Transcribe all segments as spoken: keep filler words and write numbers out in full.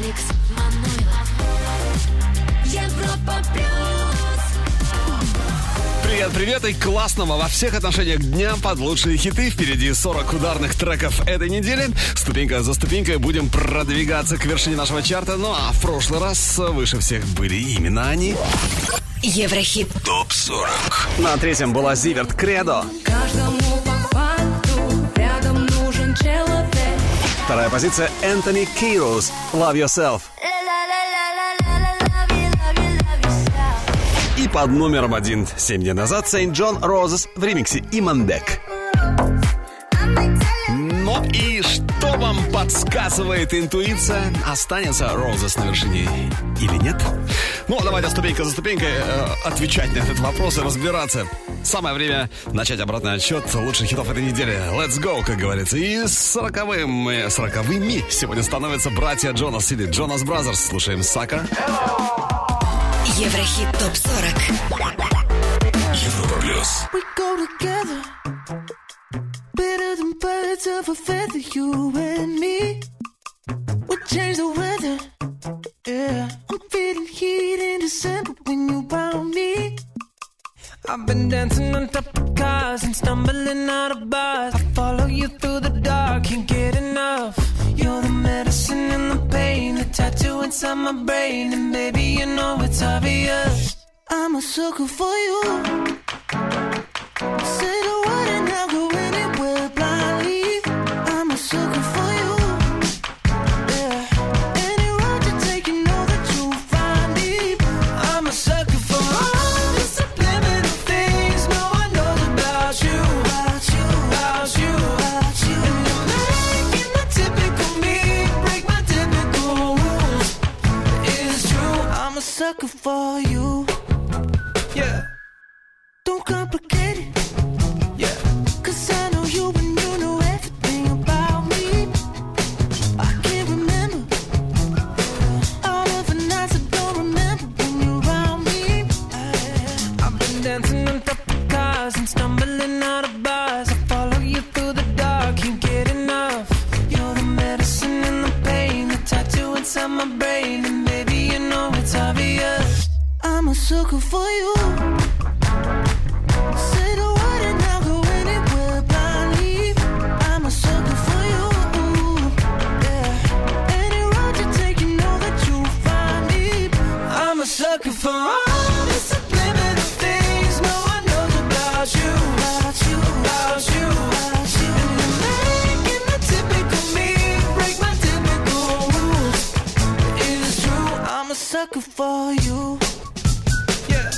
Алекс Манойлов. Европа плюс. Привет, привет и классного во всех отношениях дня под лучшие хиты. Впереди сорок ударных треков этой недели. Ступенька за ступенькой будем продвигаться к вершине нашего чарта. Ну а в прошлый раз выше всех были именно они. Еврохит топ сорок. На третьем была Зиверт «Кредо». Каждому по факту рядом нужен человек. Вторая позиция Энтони Кирус «Love Yourself». И под номером один семь дней назад Сейнт Джон Розес в ремиксе Имандек. Ну и что вам подсказывает интуиция? Останется Розес на вершине или нет? Ну, давайте ступенька за ступенькой э, отвечать на этот вопрос и разбираться. Самое время начать обратный отсчет лучших хитов этой недели. Let's go, как говорится. И сороковым, сороковыми сегодня становятся братья Джонас или Джонас Бразерс. Слушаем «Сакер». Еврохит топ сорок. Европа плюс. We go together, better than birds of a feather, you and me. We change the weather, yeah. I'm feeling heat in December when you found me. I've been dancing on top of cars and stumbling out of bars. I follow you through the dark, can't get enough. You're the medicine and the pain, the tattoo inside my brain. And baby, you know it's obvious, I'm a sucker for you. Say the word and I'll go anywhere blindly. I'm a sucker for you. Yeah. Any road you take, you know that you'll find me. I'm a sucker for all the subliminal things no one knows about you, About you, about you, about you. And you're making the typical me break my typical rules. It's true, I'm a sucker for you. yeah, Don't complicate it, yeah. cause I know you and you know everything about me. I can't remember all of the nights I don't remember when you're around me. I've been dancing on top of cars and stumbling out of bars. I follow you through the dark, can't get enough. You're the medicine and the pain, the tattoo inside my brain. And baby, you know it's obvious, I'm a sucker for you. Say the word and I'll go anywhere blindly. I'm a sucker for you. Yeah. Any road you take, you know that you'll find me. I'm a sucker for all the subliminal things no one knows about you, About you, about you, about you. And you're making the typical me break my typical rules. It's true, I'm a sucker for you. yeah.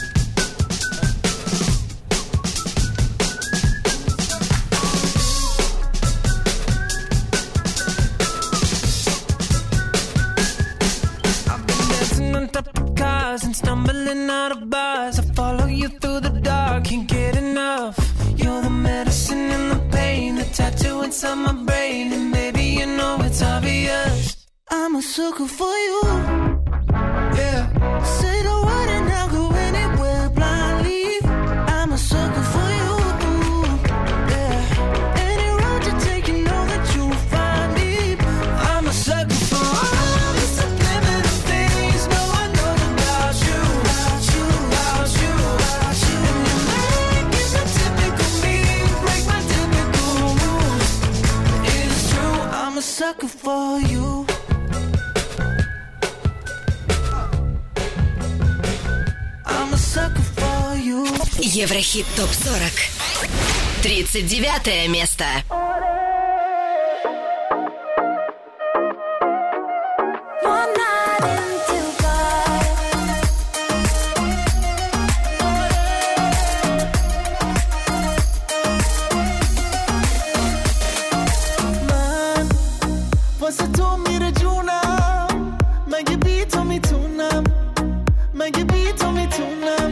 I've been dancing on top of cars and stumbling out of bars. I follow you through the dark, can't get enough. You're the medicine and the pain, the tattoo inside my brain. And baby, you know it's obvious, I'm a sucker for you. yeah. Say the word and I'll go anywhere blindly. I'm a sucker for you. Yeah. Any road you take, you know that you'll find me. I'm a sucker for all the subliminal things no one knows about you, About you, about you, about you. And you're making the typical me break my typical rules. It's true, I'm a sucker for you. I'm a sucker for you. Еврохит топ сорок. тридцать девятое место. One night in Dubai. من واسه تو میره جونم، مگه بی تو میتونم، مگه بی تو میتونم.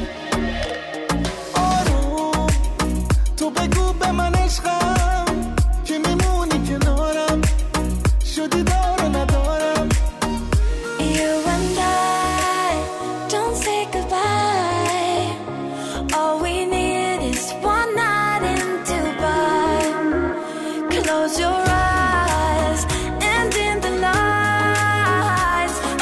آروم تو بگو به من عشقم که میمونی کنارم، شدی دار و ندارم. You and I don't say goodbye. All we need is one night in Dubai. Close your eyes and in the lights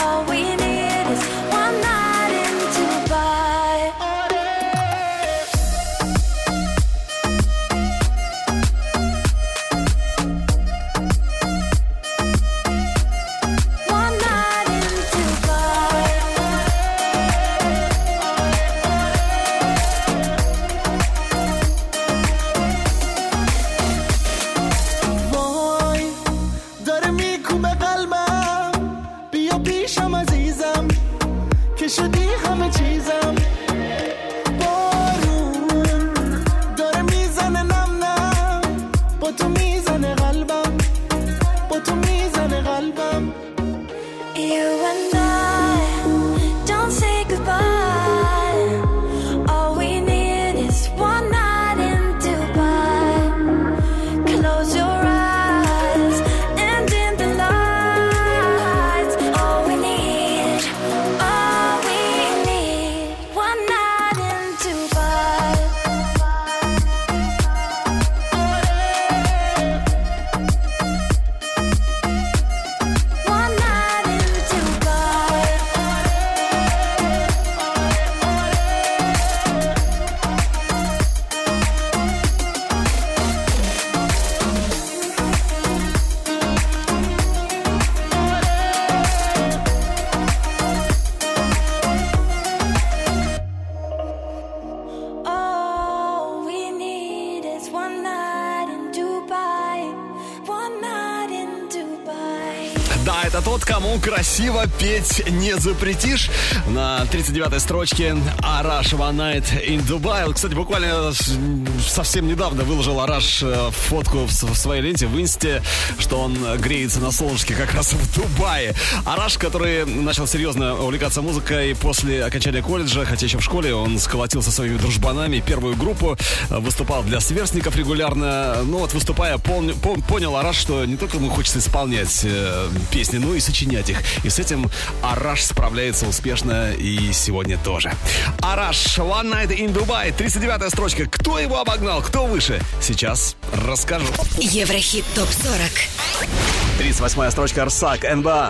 Да, это тот, кому красиво петь не запретишь. На тридцать девятой строчке Араш One Night in Dubai. Кстати, буквально совсем недавно выложил Араш фотку в своей ленте в инсте, что он греется на солнышке как раз в Дубае. Араш, который начал серьезно увлекаться музыкой после окончания колледжа, хотя еще в школе он сколотил со своими дружбанами первую группу, выступал для сверстников регулярно. Ну вот, выступая, пон- пон- понял Араш, что не только ему хочется исполнять э, песни, но и сочинять их. И с этим Араш справляется успешно и сегодня тоже. Араш One Night in Dubai, тридцать девятая строчка. Кто его обогнал, кто выше? Сейчас расскажу. Еврохит топ сорок. тридцать восьмая строчка Арсак, эн бэ а.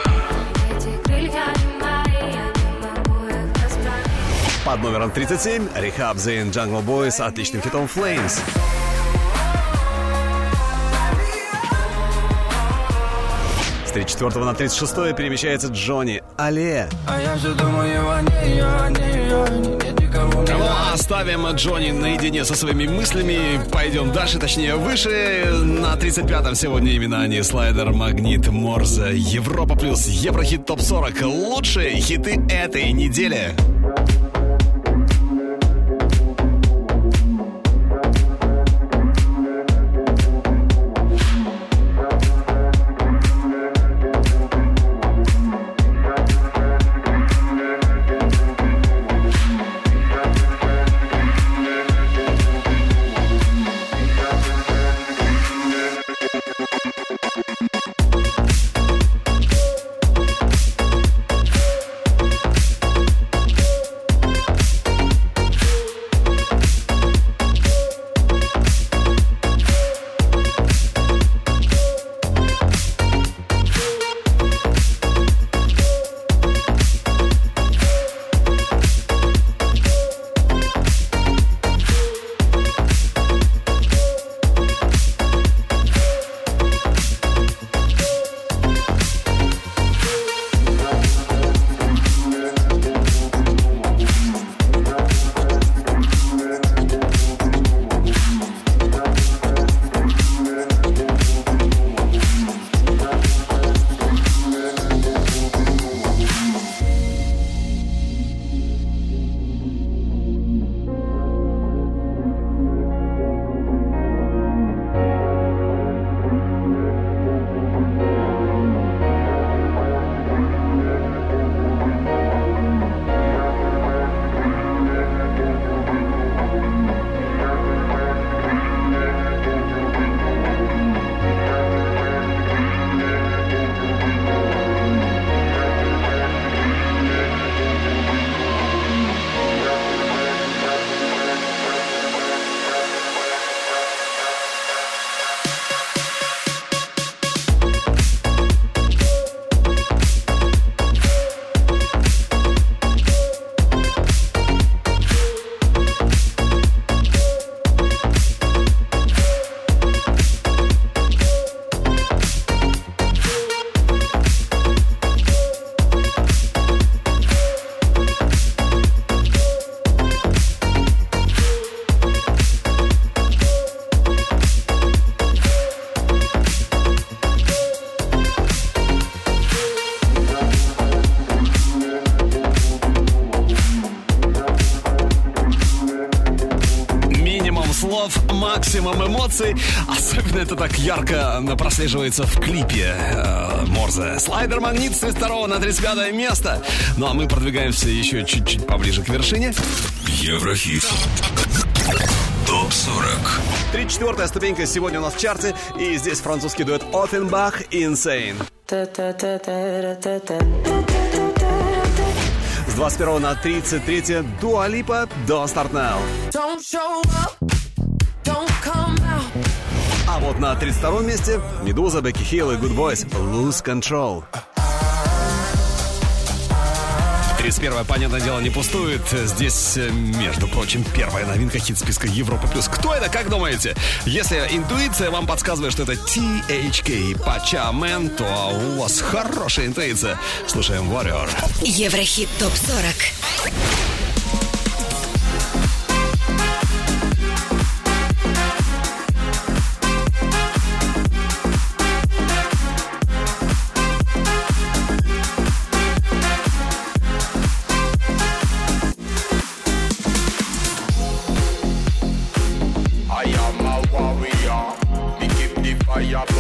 Под номером тридцать семь Rehab Zayn Jungle Boy с отличным хитом Flames. С тридцать четвёртого на тридцать шестое перемещается Джонни Алле. Ну, оставим Джонни наедине со своими мыслями. Пойдем дальше, точнее выше. На тридцать пятом сегодня именно они. Слайдер, Магнит, Морзе, Европа плюс, Еврохит топ сорок. Лучшие хиты этой недели. Максимум эмоций. Особенно это так ярко прослеживается в клипе э, Морзе. Слайдер, Магнит с тридцать второго на тридцать пятое место. Ну а мы продвигаемся еще чуть-чуть поближе к вершине. Еврохит топ сорок. тридцать четвёртая ступенька сегодня у нас в чарте. И здесь французский дуэт Оффенбах Insane. С двадцать первого на тридцать третье Дуа Липа Don't Start Now. Don't show up, don't come out. А вот на тридцать втором месте Медуза, Бекки Хилл и Good Boys Lose Control. тридцать первое, понятное дело, не пустует. Здесь, между прочим, первая новинка хит-списка Европа плюс. Кто это, как думаете? Если интуиция вам подсказывает, что это ти эйч кей Пача Мэн, то у вас хорошая интуиция. Слушаем Warrior. Еврохит топ сорок.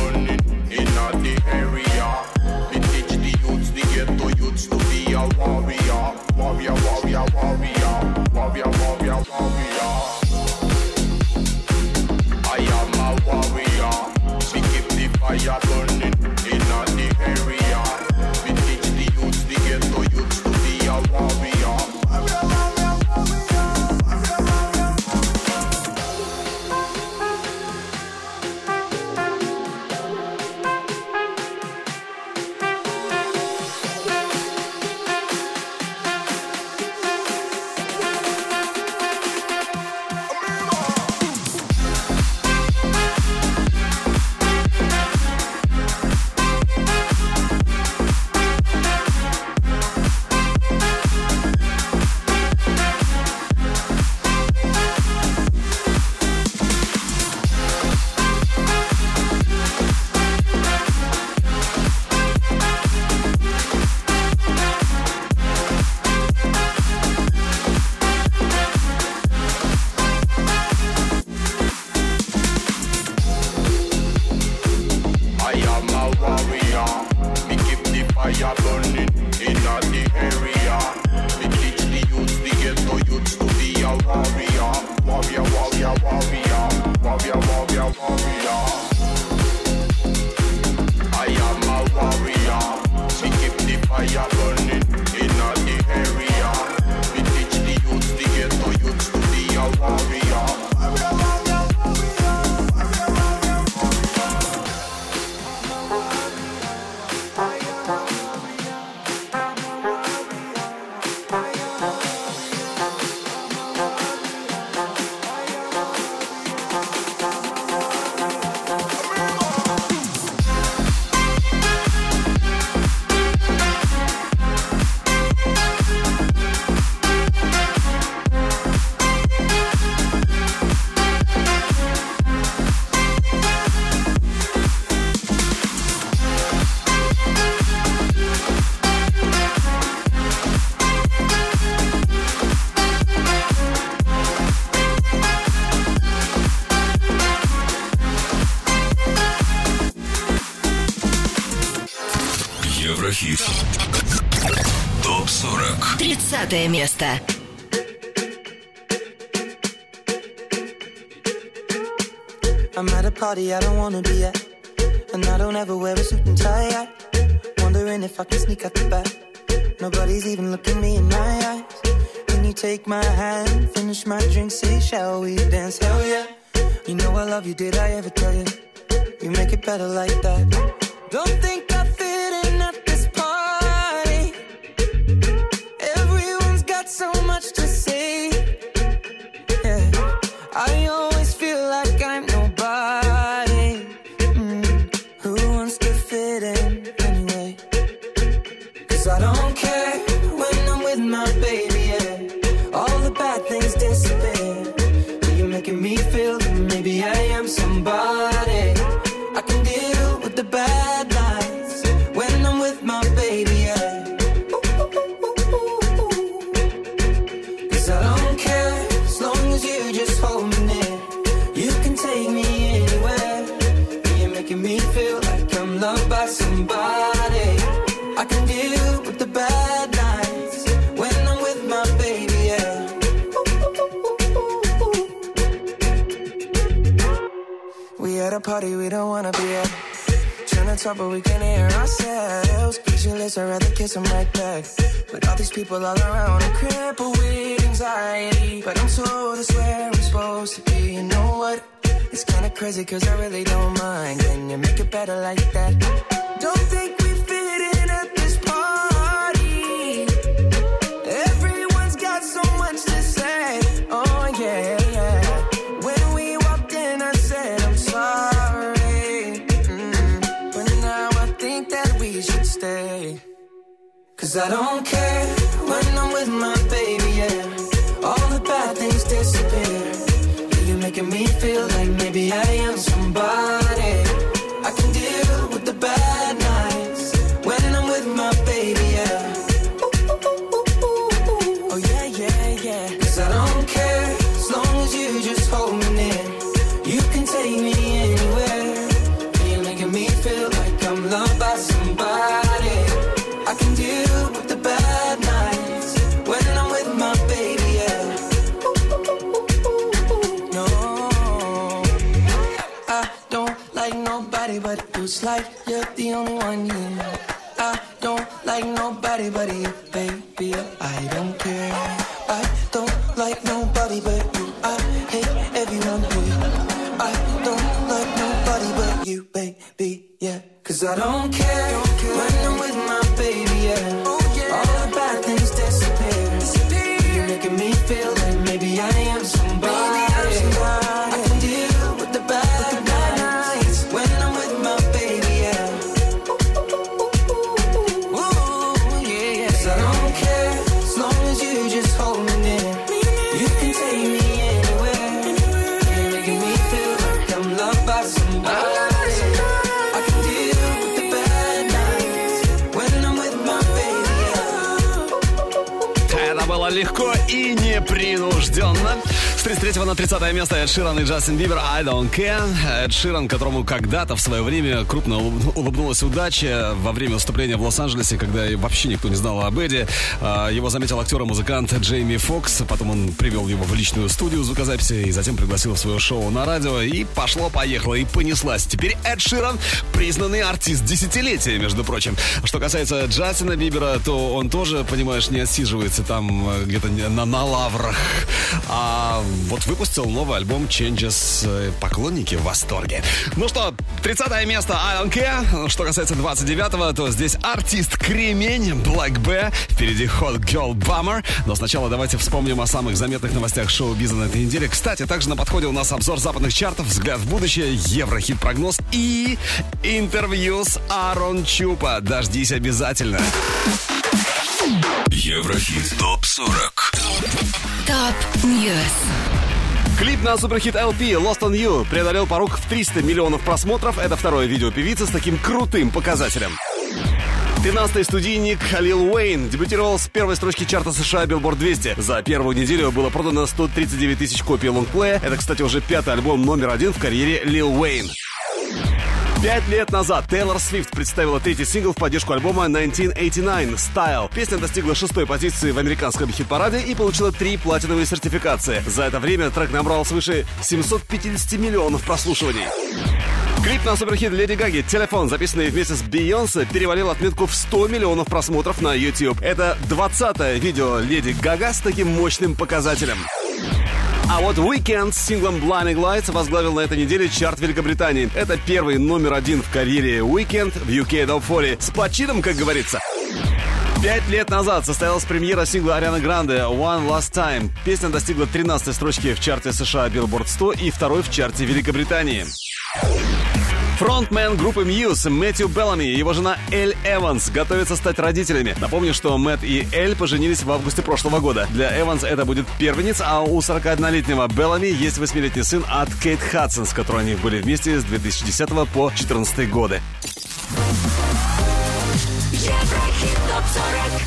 burning in the area. We teach the youths, the ghetto youths to be a warrior. Warrior, warrior, warrior. Warrior, warrior, warrior. I am a warrior. We keep the fire burning in the area. We teach the youths, the ghetto youths to be a warrior. Warrior, warrior, warrior. Warrior, warrior. Еврохит. топ сорок. тридцатое место. I'm at a party I don't wanna be at, and I don't ever wear a suit and tie yet. Wondering if I can sneak out the back. Nobody's even looking me in my eyes. Can you take my hand, finish my drink, say shall we dance? Hell yeah. You know I love you, did I ever tell you? You make it better like that. Don't think I fit in at this party. Everyone's got so much to say. Yeah, I always feel like I'm nobody. Mm. Who wants to fit in anyway? Cause I don't care when I'm with my baby, yeah. All the bad things disappear. You're making me feel that maybe I am somebody. I can deal with the bad nights when I'm with my baby, yeah. Cause I don't care as long as you just hold me near. You can take me anywhere. You're making me feel like I'm loved by somebody. I can deal with the bad nights when I'm with my baby, yeah. We at a party we don't wanna be at. Trying to talk but we can't hear ourselves. Speechless, I'd rather kiss them right back. But all these people all around, I'm crippled with anxiety. But I'm told it's where I'm supposed to be. You know what? It's kinda crazy cause I really don't mind. Can you make it better like that? Don't think we fit in at this party. Everyone's got so much to say. Oh yeah, yeah. When we walked in I said I'm sorry. Mm. But now I think that we should stay. Cause I don't care when I'm with my baby, yeah. All the bad things disappear. You're making me feel like maybe I am somebody. I can deal with the bad nights when I'm with my baby, yeah. Oh yeah, yeah, yeah. Cause I don't care as long as you just hold me near. You can take me anywhere. You're making me I'm loved by somebody. I can deal with the bad nights when I'm with my baby, yeah. No, I don't like nobody but you. It's like you're the only one, yeah. I don't like nobody but you, baby. I don't care. I don't like nobody but you. I hate everyone here. I don't like nobody but you, baby, yeah. Cause I don't care, don't care. When I'm with my baby, yeah. Oh, yeah. All the bad things disappear, disappear. You're making me feel like maybe I am somebody, maybe I'm somebody. I can deal with the bad, with the bad nights when I'm with my baby, yeah. Ooh, yeah, yeah. Cause I don't care, as long as you just hold me near. You can take me anywhere. You're making me feel like I'm loved by somebody. Было легко и непринужденно. С тридцать третьего на тридцатое место Эд Ширан и Джастин Бибер «I Don't Care». Эд Ширан, которому когда-то в свое время крупно улыбнулась удача во время выступления в Лос-Анджелесе, когда вообще никто не знал об Эдди. Его заметил актер и музыкант Джейми Фокс. Потом он привел его в личную студию звукозаписи и затем пригласил в свое шоу на радио. И пошло-поехало, и понеслась. Теперь Эд Ширан признанный артист десятилетия, между прочим. Что касается Джастина Бибера, то он тоже, понимаешь, не отсиживается там где-то на, на лаврах. А вот выпустил новый альбом Changes. Поклонники в восторге. Ну что, тридцатое место I Don't Care. Что касается двадцать девятого, то здесь артист Кремень Black B. Впереди Hot Girl Bummer. Но сначала давайте вспомним о самых заметных новостях шоу-биза на этой неделе. Кстати, также на подходе у нас обзор западных чартов, взгляд в будущее, Еврохит-прогноз и интервью с Аарон Чупа. Дождись обязательно. Еврохит топ сорок. Топ Ньюс. Клип на суперхит эл пи Lost on You преодолел порог в триста миллионов просмотров. Это второе видео певицы с таким крутым показателем. тринадцатый студийник Лил Уэйн дебютировал с первой строчки чарта США Billboard двести. За первую неделю было продано сто тридцать девять тысяч копий лонгплея. Это, кстати, уже пятый альбом номер один в карьере Лил Уэйн. Пять лет назад Тейлор Свифт представила третий сингл в поддержку альбома тысяча девятьсот восемьдесят девять «Style». Песня достигла шестой позиции в американском хит-параде и получила три платиновые сертификации. За это время трек набрал свыше семьсот пятьдесят миллионов прослушиваний. Клип на суперхит Леди Гаги «Телефон», записанный вместе с Бейонсе, перевалил отметку в сто миллионов просмотров на YouTube. Это двадцатое видео Леди Гага с таким мощным показателем. А вот Weeknd с синглом Blinding Lights возглавил на этой неделе чарт Великобритании. Это первый номер один в карьере Weeknd в ю кей Top сорок. С почином, как говорится. Пять лет назад состоялась премьера сингла Арианы Гранде «One Last Time». Песня достигла тринадцатой строчки в чарте США Billboard сто и второй в чарте Великобритании. Фронтмен группы Muse Мэтью Беллами и его жена Эль Эванс готовятся стать родителями. Напомню, что Мэтт и Эль поженились в августе прошлого года. Для Эванс это будет первенец, а у сорокаоднолетнего Беллами есть восьмилетний сын от Кейт Хадсон, с которой они были вместе с две тысячи десятого по две тысячи четырнадцатый годы. Еврохит топ сорок.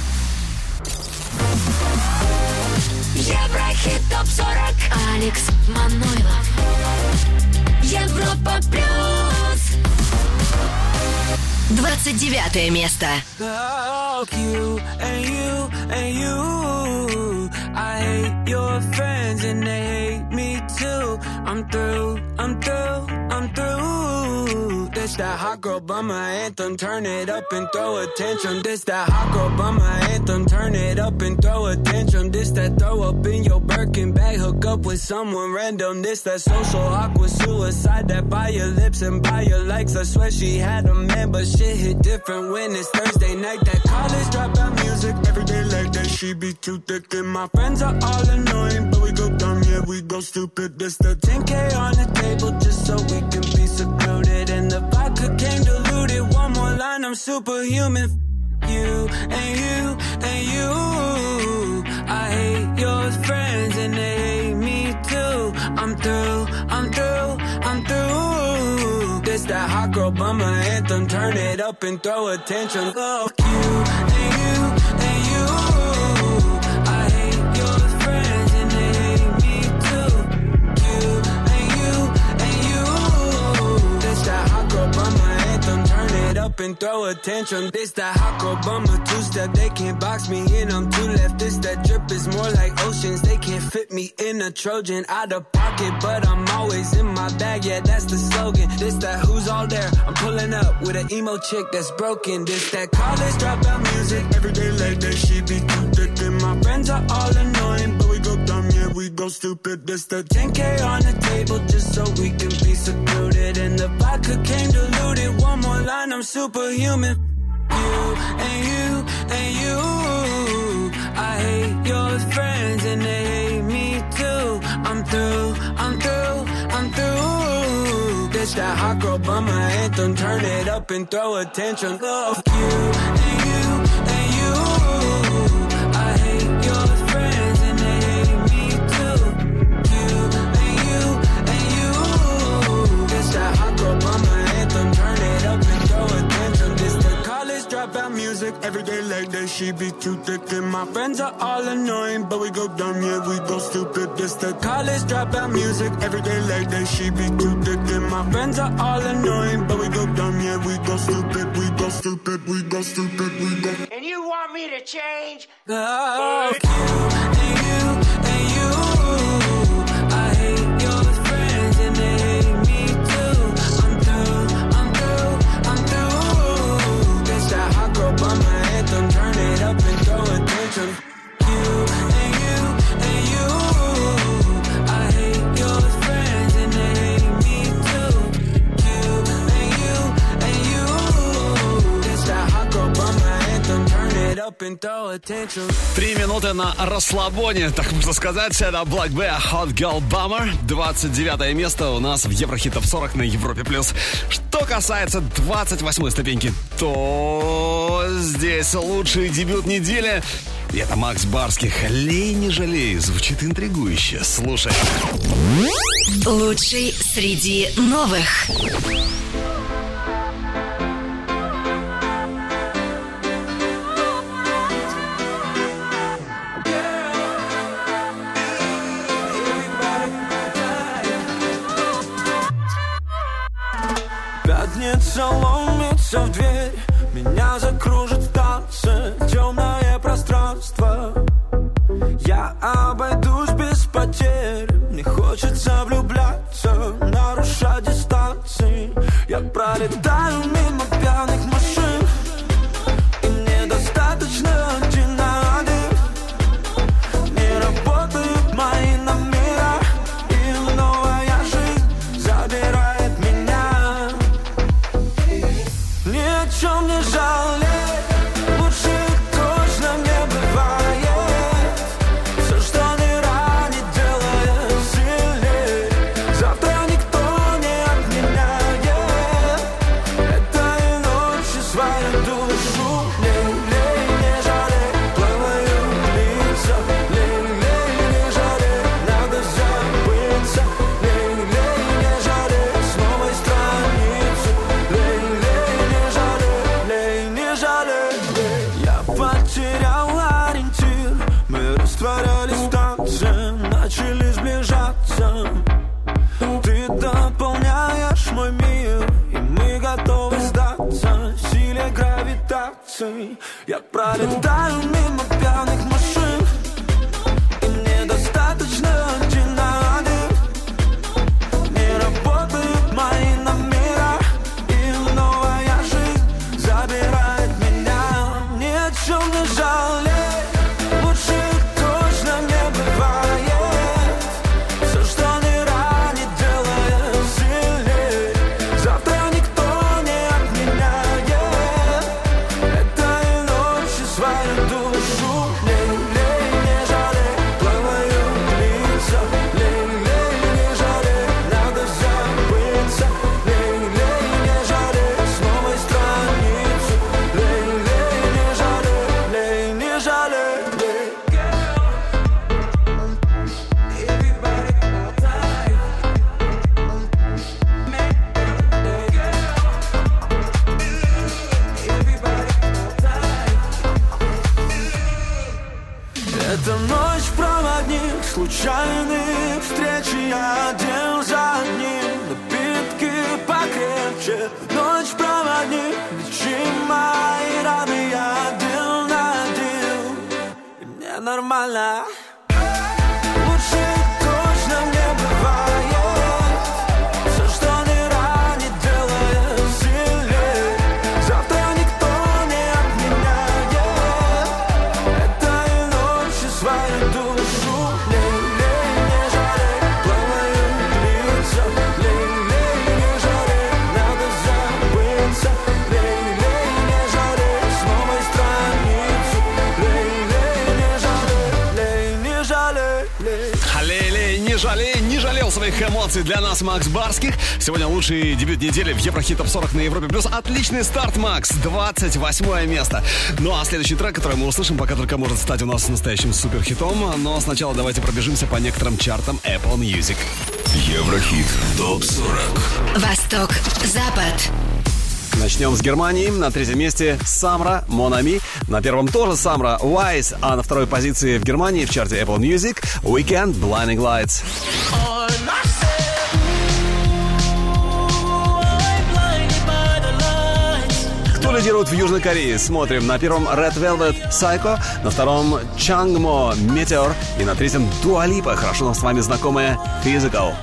Еврохит топ сорок. Алекс Манойлов. Европа плюс. Двадцать девятое место. Fuck you and you and you. I hate your friends and they hate me too. I'm through, I'm through, I'm through. This that hot girl bummer anthem. Turn it up and throw attention. This that hot girl bummer anthem. Turn it up and throw attention. This that throw up in your Birkin bag. Hook up with someone random. This that social awkward suicide. That by your lips and by your likes. I swear she had a man, but shit hit different when it's Thursday night. That college dropout music every day like that. She be too thick and my friends are all annoying, but we go dumb, yeah, we go stupid. This the ten K on the table just so we can be secluded. And the vodka came diluted. One more line, I'm superhuman. You and you and you. I hate your friends and they hate me too. I'm through, I'm through, I'm through. This that hot girl bummer anthem. Turn it up and throw attention. Fuck you and you and you. up and throw a tantrum. This that hot girl bummer two-step. They can't box me in, I'm too left. This that drip is more like oceans. They can't fit me in a Trojan. Out of pocket, but I'm always in my bag. Yeah, that's the slogan. This that who's all there. I'm pulling up with an emo chick that's broken. This that college dropout music. Every day like that, she be too thick. And my friends are all annoying, but we go dumb, yeah, we go stupid. This that ten K on the table just so we can be secluded. And the vodka came diluted. One more line, I'm superhuman. You and you and you. I hate your friends and they hate me too. I'm through, I'm through, I'm through. This that hot girl bummer anthem. Turn it up and throw a tantrum. Love you and you and you. I hate your friends and they hate me too. You and you and you. This that hot girl bummer anthem. Turn it up and throw a tantrum. This the college dropout music. Every day like that, she be too thick. And my friends are all annoying, but we go dumb, yeah, we go stupid. This the college dropout music. Every day like that, she be too thick. And my friends are all annoying, but we go dumb, yeah, we go stupid. We go stupid, we go stupid, we go. And you want me to change? Love you and you and you. I hate your friends and they hate me too. I'm through, I'm through, I'm through. This that hot girl bummer anthem. Turn it up and throw a tantrum. You and you and you. I hate your friends and they hate me too. You and you and you. This that hot girl bummer anthem. Turn it up and throw a tantrum. Три минуты на расслабоне, так можно сказать. Это Black Bear, Hot Girl Bummer. двадцать девятое место у нас в Еврохит Топ сорок на Европе+. Что касается двадцать восьмой ступеньки, то здесь лучший дебют недели. И это Макс Барских. «Лей, не жалей». Звучит интригующе. Слушай. Лучший среди новых. Пятница ломится в дверь. Меня закружит в танце темное пространство. Я обойдусь без потерь. Мне хочется влюбляться, нарушать дистанции. Я пролетаю мимо пьяных машин, и мне достаточно один на один. Не работают мои номера, и новая жизнь забирает меня. Ни о чем не жалей, лучше точно не бывает. Все, что не ранит, делает сильней. Завтра никто не отменяет этой ночью свою душу. Лей, лей, не жалей, плавают лица. Лей, лей, не жалей, надо забыться. Лей, лей, не жалей, с новой страницы. Лей, лей, не жалей, лей, не жалей. Я потерял ориентир, мы растворялись в танце, начали сближаться. Ты дополняешь мой мир, и мы готовы сдаться силе гравитации. Я пролетаю мимо пьяных машин, и мне достаточно один на один. Не работают мои номера, и новая жизнь забирает меня. Ни о чем не жалей, лучше точно не бывает. Все, что не ранит, делает сильней. Завтра никто не отменяет этой ночью свою душу. Лей, лей, не жалей, плавают лица. Лей, лей, не жалей, надо забыться. Лей, лей, не жалей, с новой страницы. Лей, лей, не жалей, лей, не жалей, лей. Это ночь проводник, случайных встреч. Я один за одним, напитки покрепче. Ночь проводник, вечер. нормально. Лучше точно не бывает. Все, что не ранит, делает сильнее. Завтра никто не отменяет этой ночи свою душу. Лей-лей, не жалей, плавают лица. Лей-лей, не жалей, надо забыться. Лей-лей, не жалей, с новой страницы. Лей-лей, не жалей, лей, не жалей, лей. Лей-лей, не жалей, не жалел своих эмоций для нас Макс Барских. Сегодня лучший дебют недели в Еврохит Топ сорок на Европе Плюс. Отличный старт, Макс, двадцать восьмое место. Ну а следующий трек, который мы услышим, пока только может стать у нас настоящим суперхитом. Но сначала давайте пробежимся по некоторым чартам Apple Music. Еврохит Топ сорок. Восток, Запад. Начнем с Германии. На третьем месте Самра, Mon Ami. На первом тоже Самра, Wise. А на второй позиции в Германии в чарте Apple Music Weekend, Blinding Lights. Кто лидирует в Южной Корее? Смотрим. На первом Red Velvet, Psycho. На втором Changmo, Meteor. И на третьем Dua Lipa, хорошо нам с вами знакомая Physical.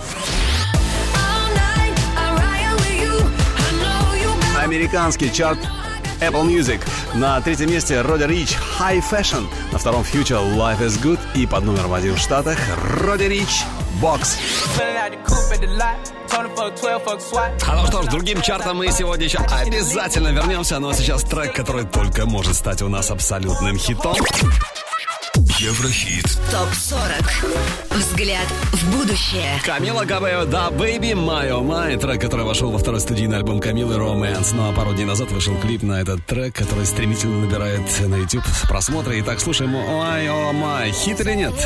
Американский чарт Apple Music. На третьем месте Roddy Ricch, High Fashion. На втором Future, Life is Good. И под номером один в Штатах Roddy Ricch, Box. А ну что ж, другим чартам мы сегодня еще обязательно вернемся. Но сейчас трек, который только может стать у нас абсолютным хитом. Еврохит Топ сорок. Взгляд в будущее. Камила Кабео, да, Baby, My Oh My. Трек, который вошел во второй студийный альбом Камилы, Romance. Ну а пару дней назад вышел клип на этот трек, который стремительно набирает на YouTube просмотры. Итак, слушаем My Oh My. Хит или нет?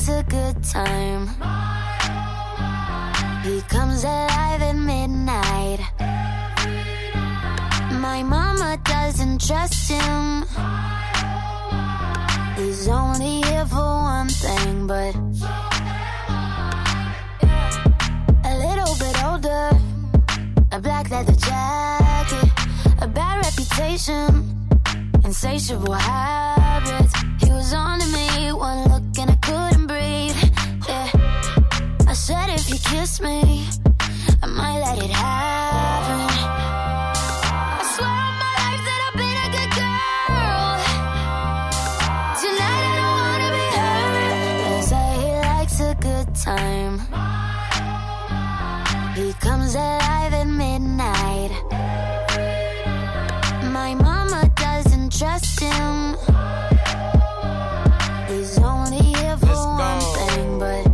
He comes alive at midnight. My mama doesn't trust him. He's only here for one thing, but a little bit older, a black leather jacket, a bad reputation, insatiable habits. He was on to me, one look and I couldn't breathe. Yeah, I said if you kiss me, I might let it happen. I swear on my life that I've been a good girl. Tonight I don't wanna be hurt. They say he likes a good time. He comes alive at midnight. My mama doesn't trust him. He's only here for one thing, but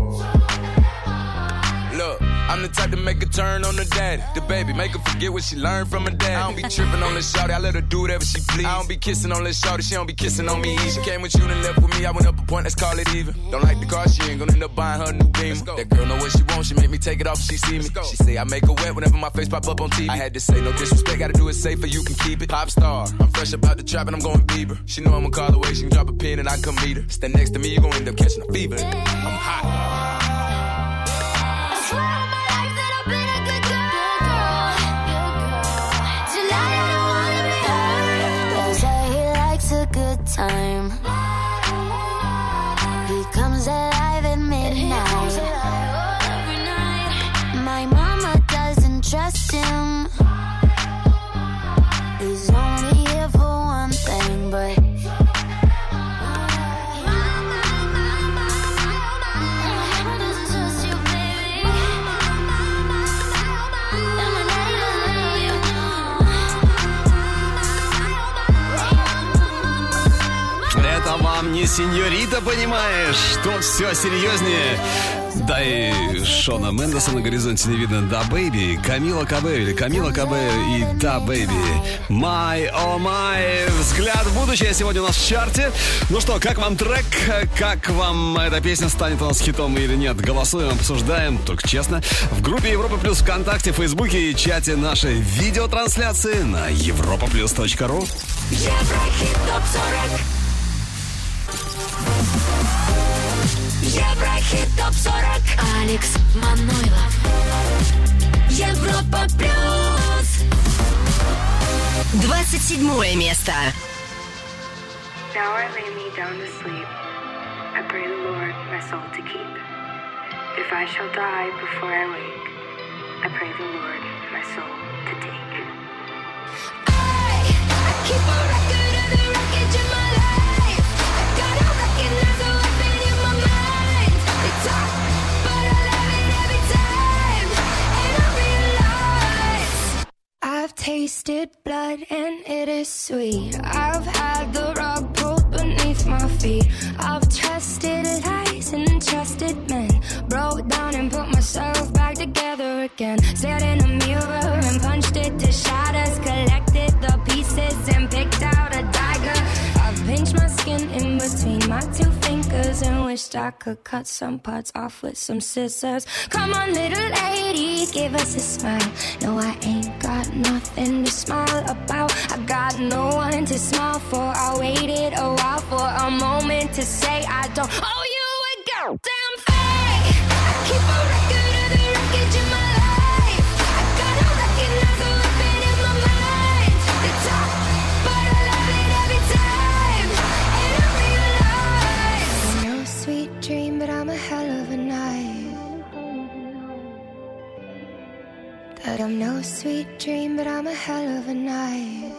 look, I'm the type to make a turn on the daddy. The baby, make her forget what she learned from her dad. I don't be tripping on this shawty, I let her do whatever she please. I don't be kissing on this shawty, she don't be kissing on me. She came with you and left with me, I went up a point, let's call it even. Don't like the car, she ain't gonna end up buying her a new Beamer. That girl know what she wants, she make me take it off if she see me. She say I make her wet whenever my face pop up on T V. I had to say no disrespect, gotta do it safer, you can keep it. Pop star, I'm fresh about the trap and I'm going Bieber. She know I'ma call away, she can drop a pin and I come meet her. Stand next to me, you gon' end up catching a fever. I'm hot. Time. He comes alive at midnight. My mama doesn't trust him. He's only here for one thing, but Это вам не сеньорита, понимаешь? Тут все серьезнее. Да и Шона Мендеса на горизонте не видно. Да, Бэйби, Камила Кабео или Камила Кабео и Да, Бэйби. My, oh my. Взгляд в будущее сегодня у нас в чарте. Ну что, как вам трек? Как вам эта песня, станет у нас хитом или нет? Голосуем, обсуждаем, только честно. В группе Европа Плюс ВКонтакте, Фейсбуке и чате нашей видеотрансляции на европа плюс точка ру. Еврохит топ сорок. Еврохит топ сорок. Алекс Манойлов. Европа Плюс. двадцать седьмое место. Now I lay me down to sleep. I pray the Lord my soul to keep. If I shall die before I wake, I pray the Lord my soul to take. I, I keep a record of the wreckage in my life. I gotta recognize the weapon in my mind. They talk, but I love it every time. And I realize I've tasted blood and it is sweet. I've had the rug pulled beneath my feet. I've trusted lies and trusted men. Broke down and put myself back together again. Stared in a mirror and punched it to shatters. Collected the pieces and picked out a dagger. I've pinched my skin in between my two fingers and wished I could cut some parts off with some scissors. Come on, little lady, give us a smile. No, I ain't got nothing to smile about. I got no one to smile for. I waited a while for a moment to say I don't owe you a goddamn thing. I keep a record of the wreckage in my life. I gotta recognize the weapon in my mind. They talk, but I love it every time. And I realize I'm no sweet dream, but I'm a hell of a night. That I'm no sweet dream, but I'm a hell of a night.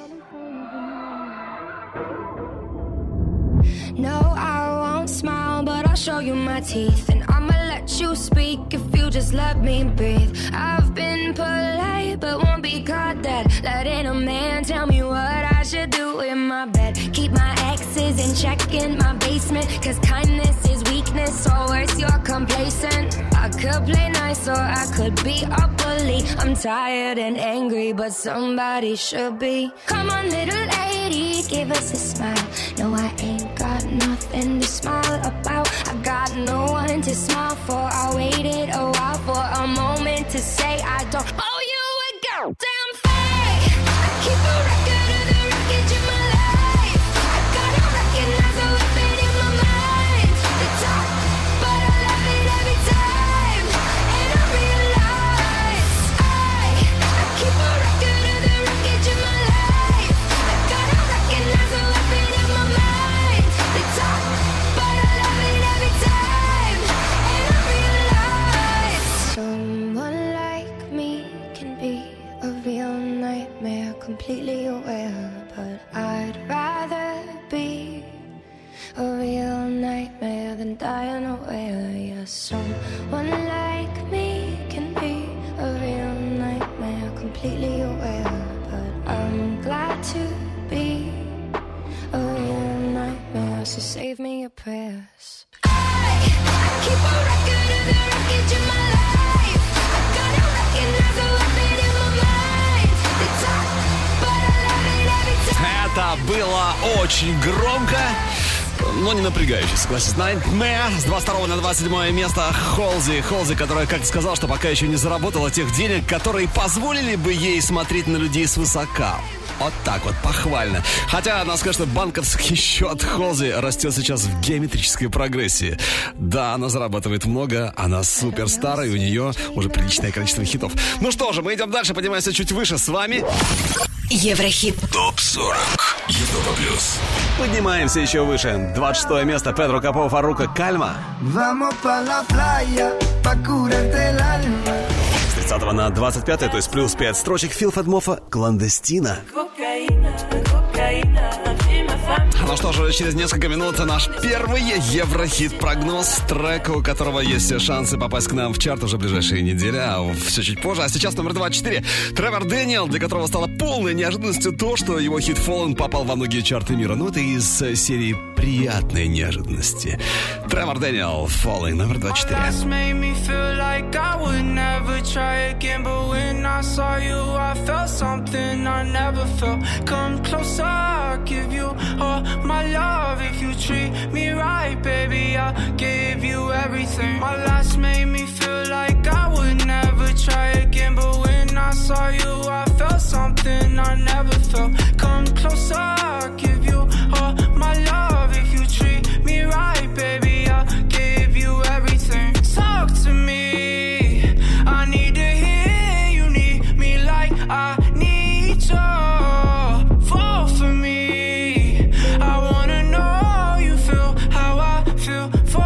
No, I won't smile, but I'll show you my teeth. And I'ma let you speak if you just let me breathe. I've been polite, but won't be caught dead. Letting a man tell me what I should do in my bed. Keep my exes in check in my basement, cause kindness is weakness, or worse, you're complacent. I could play nice or I could be a bully. I'm tired and angry, but somebody should be. Come on, little lady, give us a smile. No, I ain't got nothing to smile about. I got no one to smile for. I waited a while for a moment to say I don't owe you a goddamn thing. I keep a record of the wreckage in my life. I gotta recognize the weapon in my mind. They talk, but I love it every time. And I realize I, I keep a record of the wreckage in my life. I gotta recognize the weapon in my mind. They talk, but I love it every time. And I realize someone like me can be a real nightmare, completely aware. But I'd rather be a real nightmare than die unaware. Yeah, someone like me can be a real nightmare, completely aware. But I'm glad to be a real nightmare, so save me your prayers. I, I keep a record of the wreckage in my life. I gotta recognize the weapon in my mind. They talk, but I love it every time. Это было очень громко, но не напрягающе, согласись. Nightmare с двадцать второго на двадцать седьмое место. Холзи, Холзи, которая как сказала, что пока еще не заработала тех денег, которые позволили бы ей смотреть на людей свысока. Вот так вот, похвально. Хотя, надо сказать, что банковский счет Холзи растет сейчас в геометрической прогрессии. Да, она зарабатывает много, она суперстар, и у нее уже приличное количество хитов. Ну что же, мы идем дальше, поднимаемся чуть выше. С вами Еврохит. топ сорок. Европа плюс. Поднимаемся еще выше. двадцать шестое место. Педро Капо, Фарруко, Кальма. С тридцатого на двадцать пятое, то есть плюс пять строчек. Филфед Моффа, Кландестина. Ну что же, через несколько минут наш первый Еврохит-прогноз. Трек, у которого есть все шансы попасть к нам в чарт уже в ближайшие недели, а все чуть позже. А сейчас номер двадцать четыре. Тревор Дэниел, для которого стало полной неожиданностью то, что его хит Fallen попал во многие чарты мира. Ну, это из серии приятной неожиданности. Тревор Дэниел, Falling, номер двадцать четыре. My love, if you treat me right, baby, I'll give you everything. My last made me feel like I would never try again, but when I saw you, I felt something I never felt. Come closer, I'll give you all my love. If you treat me right, baby, I'll give you everything. Talk to me, I need to hear you need me like I need you. Fall for me, I wanna know you feel how I feel. For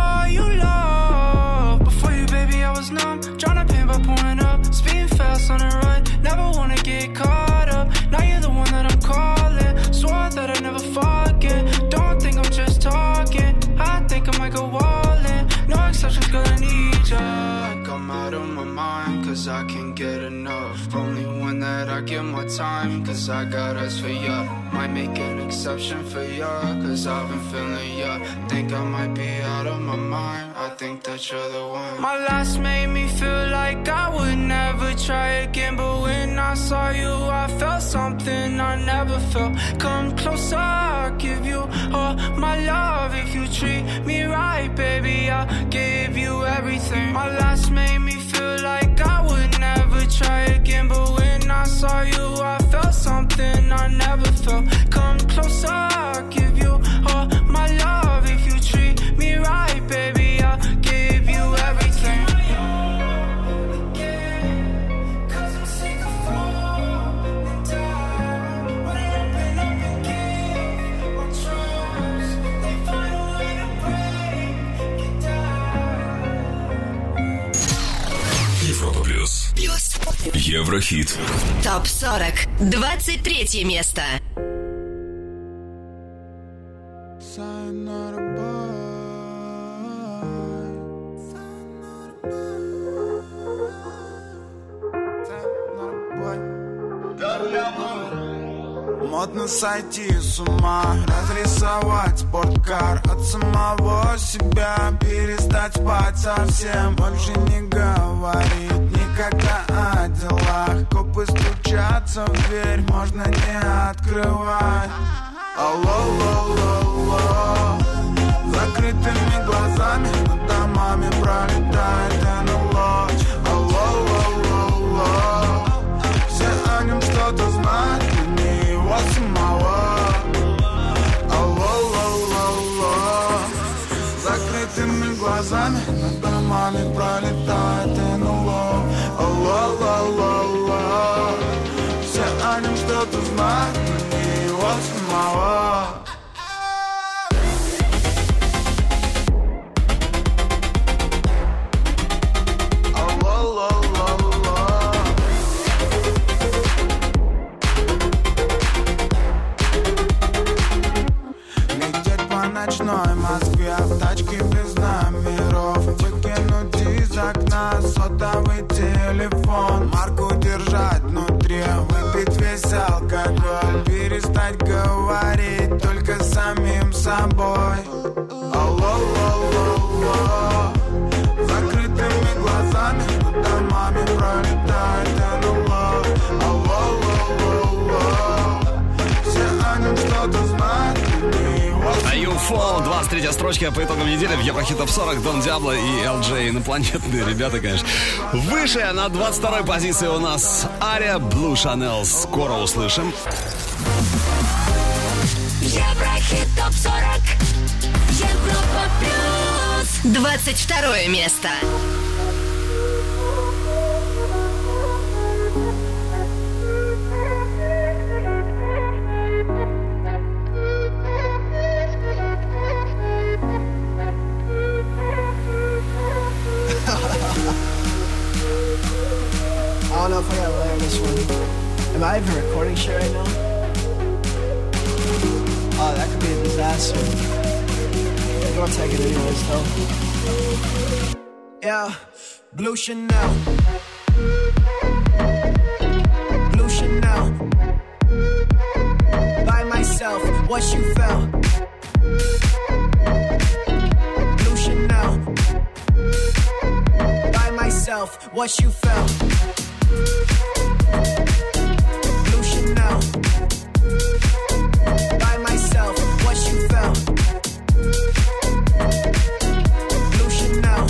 time, cause I got us for ya. Might make an exception for ya, cause I've been feeling ya. Think I might be out of my mind, I think that you're the one. My last made me feel like I would never try again, but when I saw you I felt something I never felt. Come closer, I'll give you all my love. If you treat me right, baby, I'll give you everything. My last made me feel like I would never try again, but when I saw you I felt something I never felt. Come closer, I'll give you all my love. If you treat me right, baby, I'll give you everything. Европа плюс. Плюс. Еврохит. Топ сорок. двадцать третье место. Модно сойти с ума, разрисовать спорткар от самого себя, перестать спать совсем, больше не говорить никогда о делах. Копы стучатся в дверь, можно не открывать. Алло, алло, алло. Закрытыми глазами над домами пролетает эн эл о. Алло, алло, алло. Все о нем что-то знают, но не его самого. Алло, алло, алло. Закрытыми глазами над домами пролетает эн эл о. Алло, алло, алло. Все о нем что-то знают, но не его самого. Ночной Москве в тачке без номеров, выкинуть из окна сотовый телефон, марку держать внутри, выпить весь алкоголь, перестать говорить только с самим собой. Алло, алло, алло. Закрытыми глазами над домами пролетает эн эл о. Алло, алло, алло. Все о нем что-то знают, Аюфо, двадцать третья строчка по итогам недели в Еврохит Топ сорок. Дон Диабло и эл джей. Инопланетные ребята, конечно. Выше на двадцать второй позиции у нас Ария, Blue Chanel. Скоро услышим. Еврохит Топ сорок. Европа плюс. двадцать второе место. I don't know if I gotta layer this one. Am I even recording shit right now? Oh, that could be a disaster. I'm gonna take it anyways, though. Yeah, Blue Chanel. Blue Chanel. By myself, what you felt. Blue Chanel. By myself, what you felt. Blue Chanel. By myself, what you felt. Blue Chanel.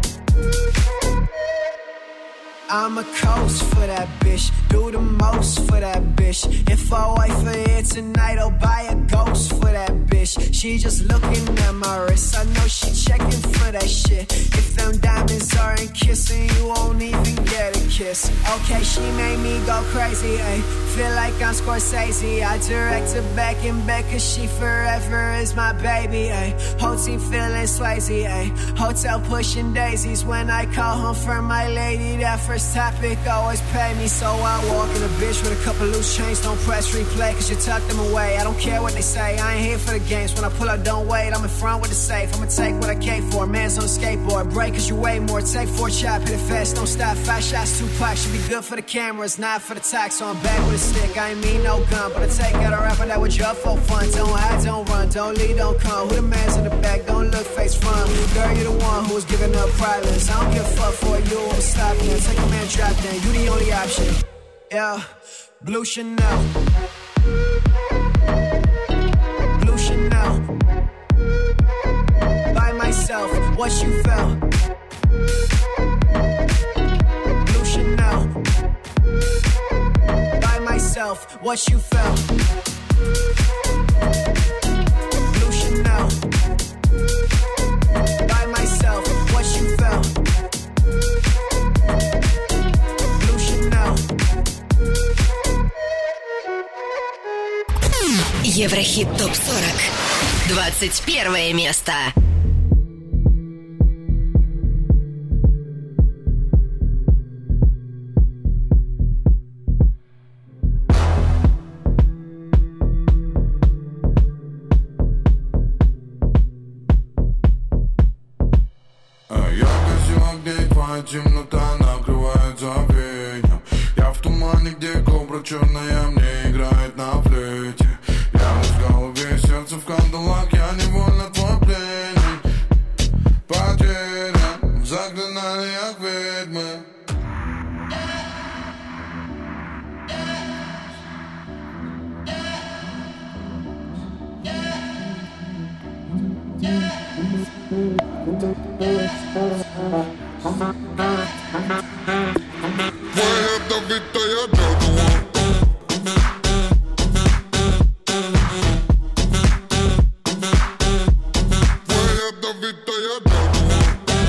I'm a coast for that bitch, do the most for that bitch. If I wait for it tonight, I'll buy a ghost for that bitch. She just looking at my wrist, I know she checking for that shit. If them diamonds aren't kissing, you won't even get a kiss. Okay, she made me go crazy, ayy. Feel like I'm Scorsese, I direct her back and back, cause she forever is my baby, ayy. Whole team feeling Swayze, ayy. Hotel pushing daisies when I call home for my lady. That first topic always pay me, so I walk in a bitch with a couple loose chains. Don't press replay, cause you tuck them away. I don't care what they say, I ain't here for the games. When I pull up, don't wait, I'm in front with the safe. I'ma take what I came for, man's on a skateboard. Break cause you weigh more, take four chop, hit it fast, don't stop. Five shots, two packs, should be good for the cameras, not for the tax. So I'm back with a stick, I ain't mean no gun, but I take out a rapper that was just for fun. Don't hide, don't run, don't lead, don't come. Who the man's in the back, don't look face front. Girl, you the one who was giving up privates. I don't give a fuck for you, I'm stopping it. Take a man, drop down, you the only option. Yeah, Blue Chanel. Blue Chanel. By myself, what you felt. Blue Chanel. By myself, what you felt. Blue Chanel. By myself, what you felt. Blue Chanel. Еврохит топ сорок. двадцать первое место. Темнота накрывает забвением. Я в тумане, где кобра черная мне играет на флейте. Я в голове, сердце в кандалах, я невольно твой пленник. Потерян в заклинаниях ведьмы. Твоя добитая дорога. Твоя добитая дорога.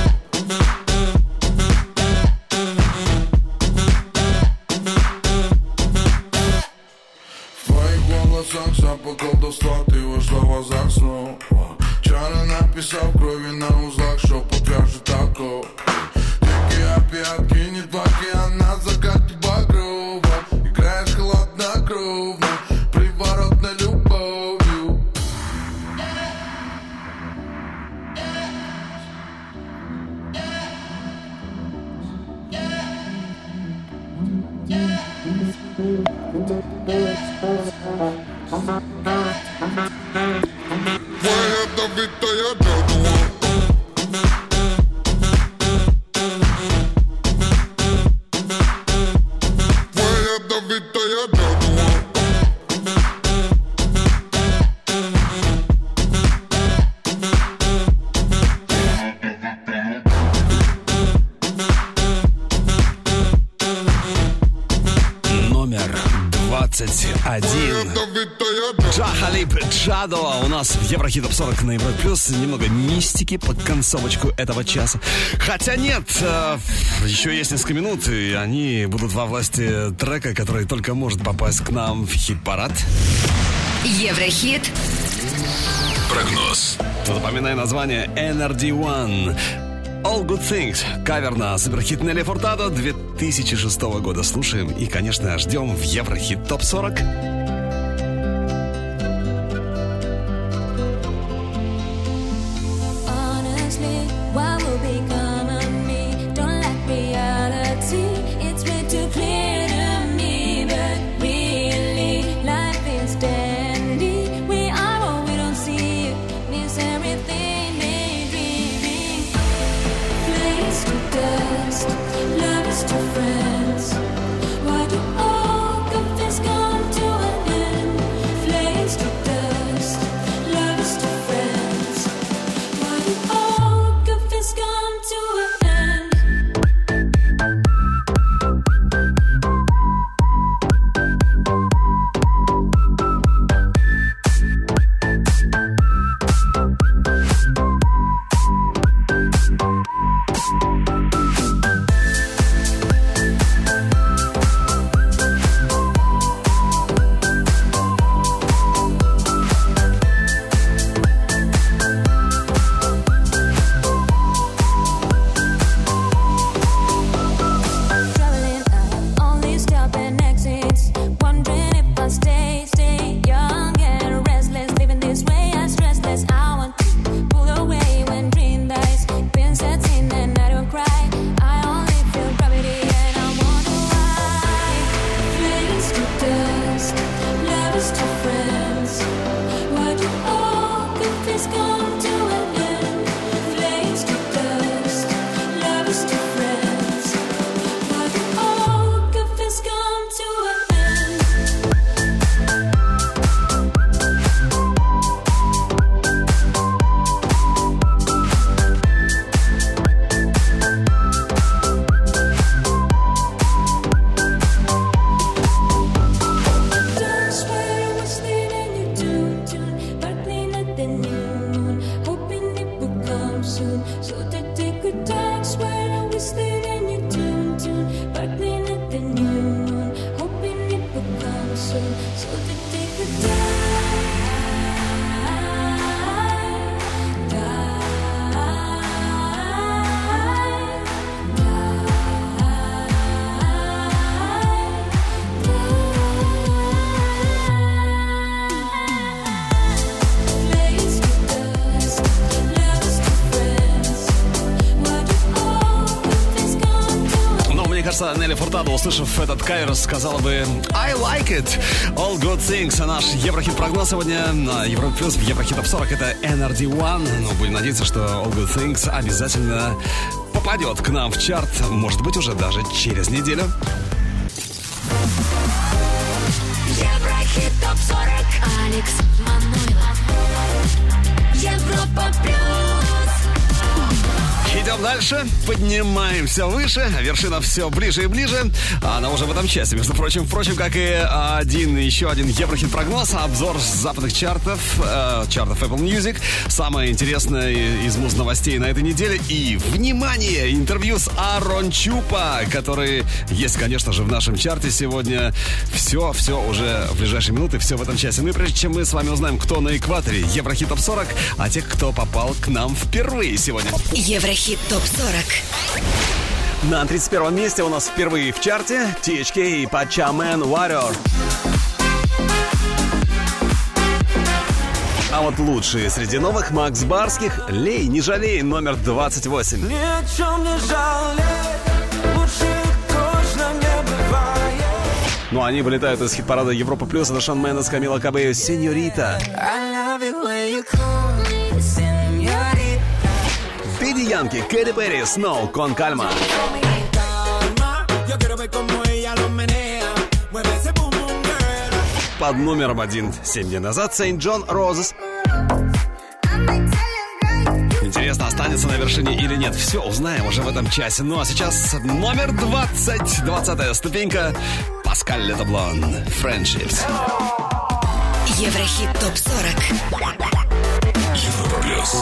В твоих волосах запах колдовства, ты вошла в азарт снова. Чары написал крови на узлах, что покажет такого. Дикие опиатки, не плаки, а на закате багрова. Играешь холоднокровно, приворотной любовью. Твоя добитая дорога. Твоя добитая дорога. Номер двадцать один. Джа Халиб Джадо у нас в Еврохит топ сорок на Европе Плюс. Немного мистики под концовочку этого часа. Хотя нет, э, еще есть несколько минут, и они будут во власти трека, который только может попасть к нам в хит-парад. Еврохит. Прогноз. Запоминай название эн эр ди один. All Good Things. Кавер на суперхит Нелли Фуртадо две тысячи шестого года. Слушаем и, конечно, ждем в Еврохит топ сорок. Love is to friends. Why do all good things come to an кажется, Нелли Фуртадо, услышав этот кавер, сказала бы I like it, all good things. А наш Еврохит-прогноз сегодня на Европе Плюс в Еврохит Топ сорок — это эн ар ди один. Ну, будем надеяться, что all good things обязательно попадет к нам в чарт. Может быть, уже даже через неделю. Еврохит Топ сорок. Алекс Манойлов. Европа Плюс. Идем дальше, поднимаемся выше, вершина все ближе и ближе. Она уже в этом часе, между прочим. Впрочем, как и один, еще один Еврохит-прогноз, обзор западных чартов, э, чартов Apple Music. Самое интересное из муз-новостей на этой неделе. И, внимание, интервью с Арон Чупа, который есть, конечно же, в нашем чарте сегодня. Все, все уже в ближайшие минуты, все в этом часе. Ну и прежде чем мы с вами узнаем, кто на экваторе Еврохит Топ сорок, а тех, кто попал к нам впервые сегодня. Еврохит Топ сорок. На тридцать первом месте у нас впервые в чарте ти эйч кей и Pachaman Warrior. А вот лучшие среди новых Макс Барских «Лей, не жалей» номер двадцать восемь. Ни о чем не жалей, лучше точно не бывает. Ну, они вылетают из хит-парада Европа Плюс. Это Шон Мендес, Камила Кабео, «Сеньорита». Дэдди Янки, Кэти Перри, «Сноу», «Кон Кальма». Под номером один семь дней назад Сейнт Джон Розес. Интересно, останется на вершине или нет. Все узнаем уже в этом часе. Ну а сейчас номер двадцать, двадцатая ступенька. Паскаль Летоблон, «Friendships». Еврохит Топ сорок. Европа Плюс.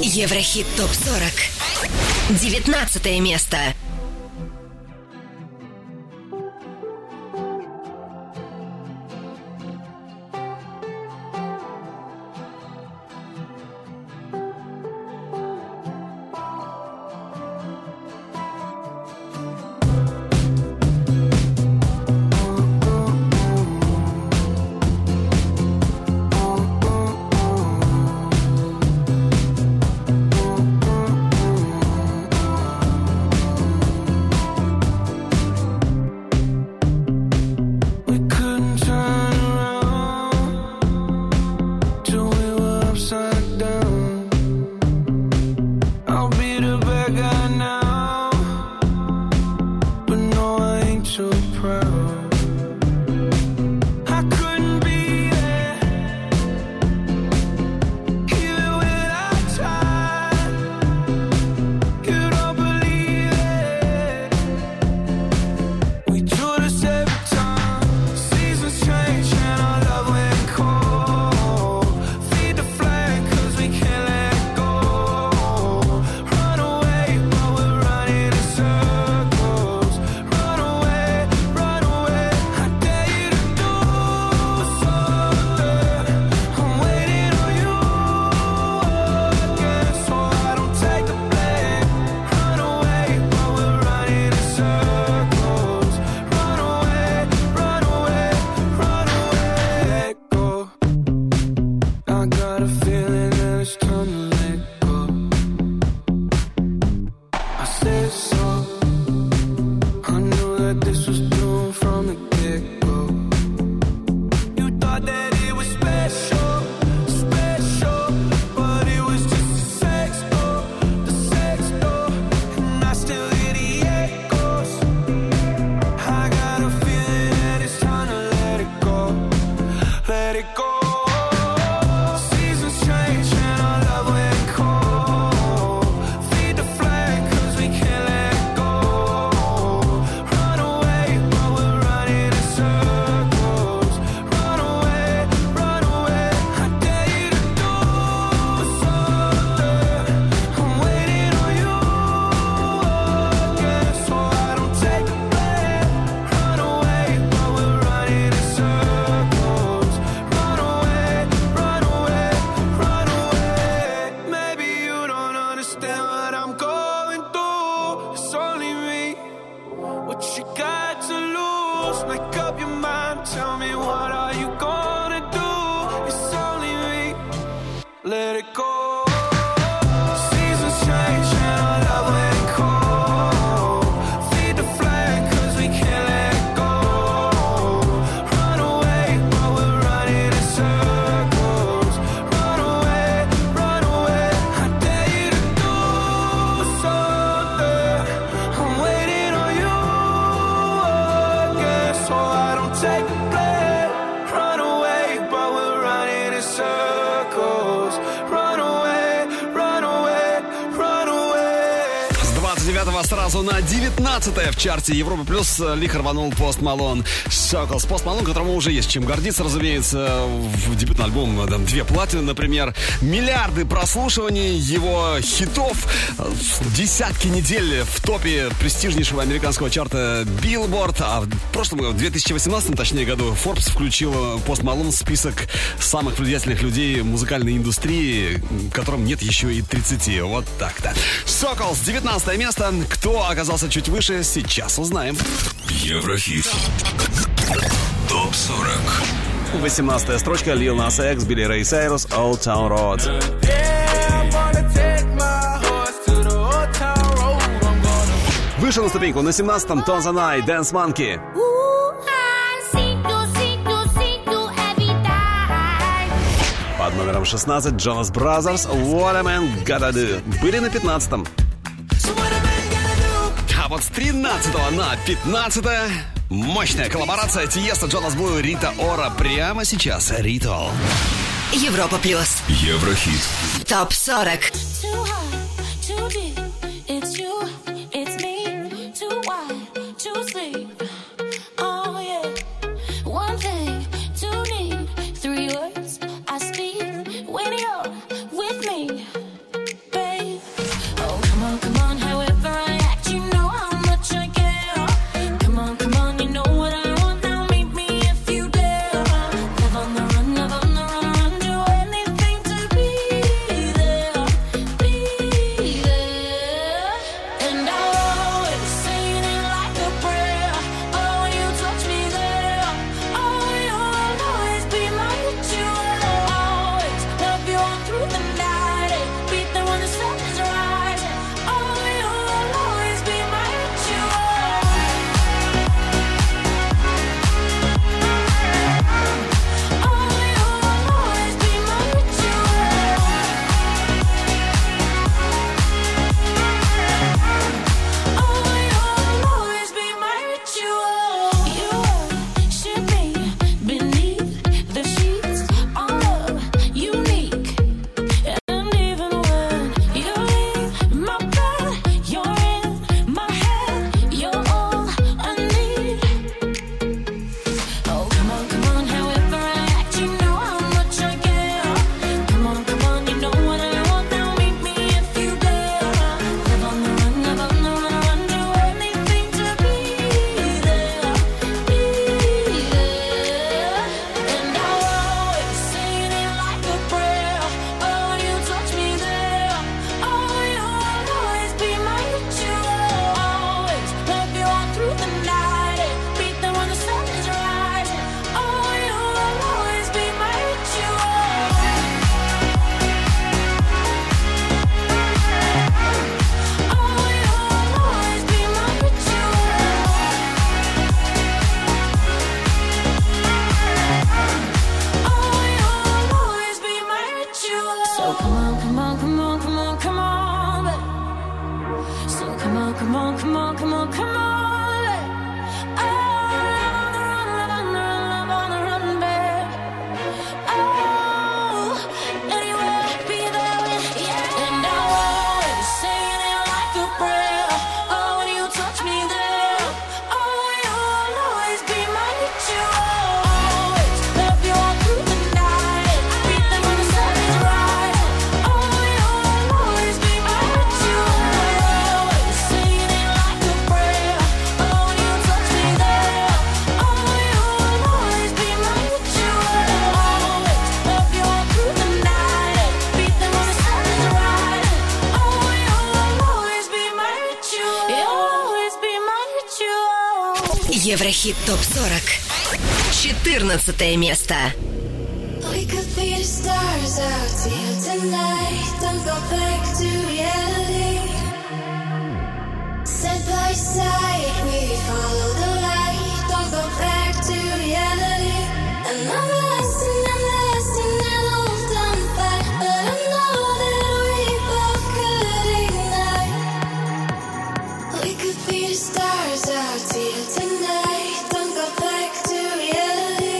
Еврохит топ сорок. девятнадцатое место. Сразу на девятнадцатое в чарте Европа Плюс лихо рванул Пост Малон. Circles. Пост Малон, которому уже есть чем гордиться, разумеется. В дебютный альбом там, две платины, например. Миллиарды прослушиваний его хитов. Десятки недель в топе престижнейшего американского чарта Billboard. А в прошлом году, в две тысячи восемнадцатом, точнее году, Forbes включил Пост Малон в список самых влиятельных людей музыкальной индустрии, которым нет еще и тридцати. Вот так-то. Circles, девятнадцатое место. Кто оказался чуть выше, сейчас узнаем. Еврохит. топ сорок. восемнадцатая строчка. Lil Nas X, Billy Ray Cyrus, Old Town Road. Выше на ступеньку на семнадцатом Tones and I, Dance Monkey. Под номером шестнадцать Jonas Brothers, What a Man Gotta Do. Были на пятнадцатом. А вот с тринадцатого на пятнадцатое мощная коллаборация Тиеста, Джонас Блу и Рита Ора. Прямо сейчас Ритуал. Европа Плюс. Еврохит. топ сорок. Baby, Еврохит топ сорок. четырнадцатое место. We could be the stars out here tonight. Don't go back to reality. Side by side, we follow the light. Don't go back to reality. And I'm lost and I'm lost in an old dumb fight. But I know that we both could ignite. We could be the stars out here tonight. Don't go back to reality.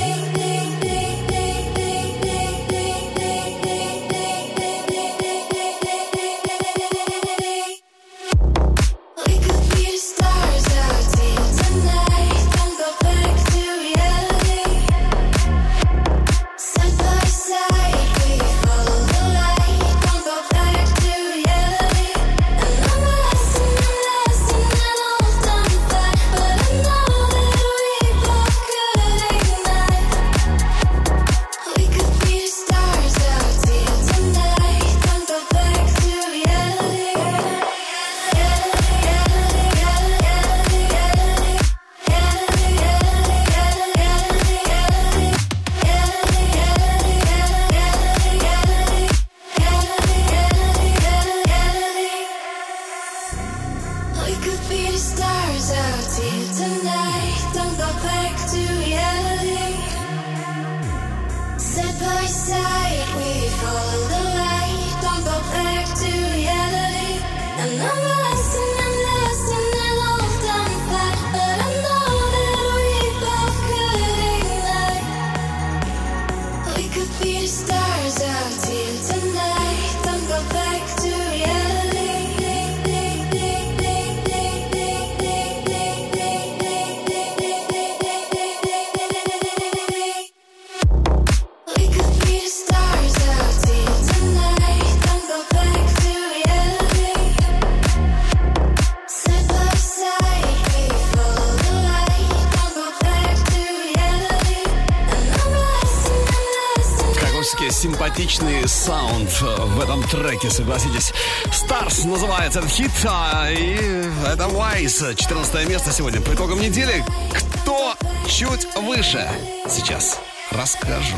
Симпатичный саунд в этом треке, согласитесь. Stars называется этот хит, и это Wise. четырнадцатое место сегодня. По итогам недели, кто чуть выше? Сейчас расскажу.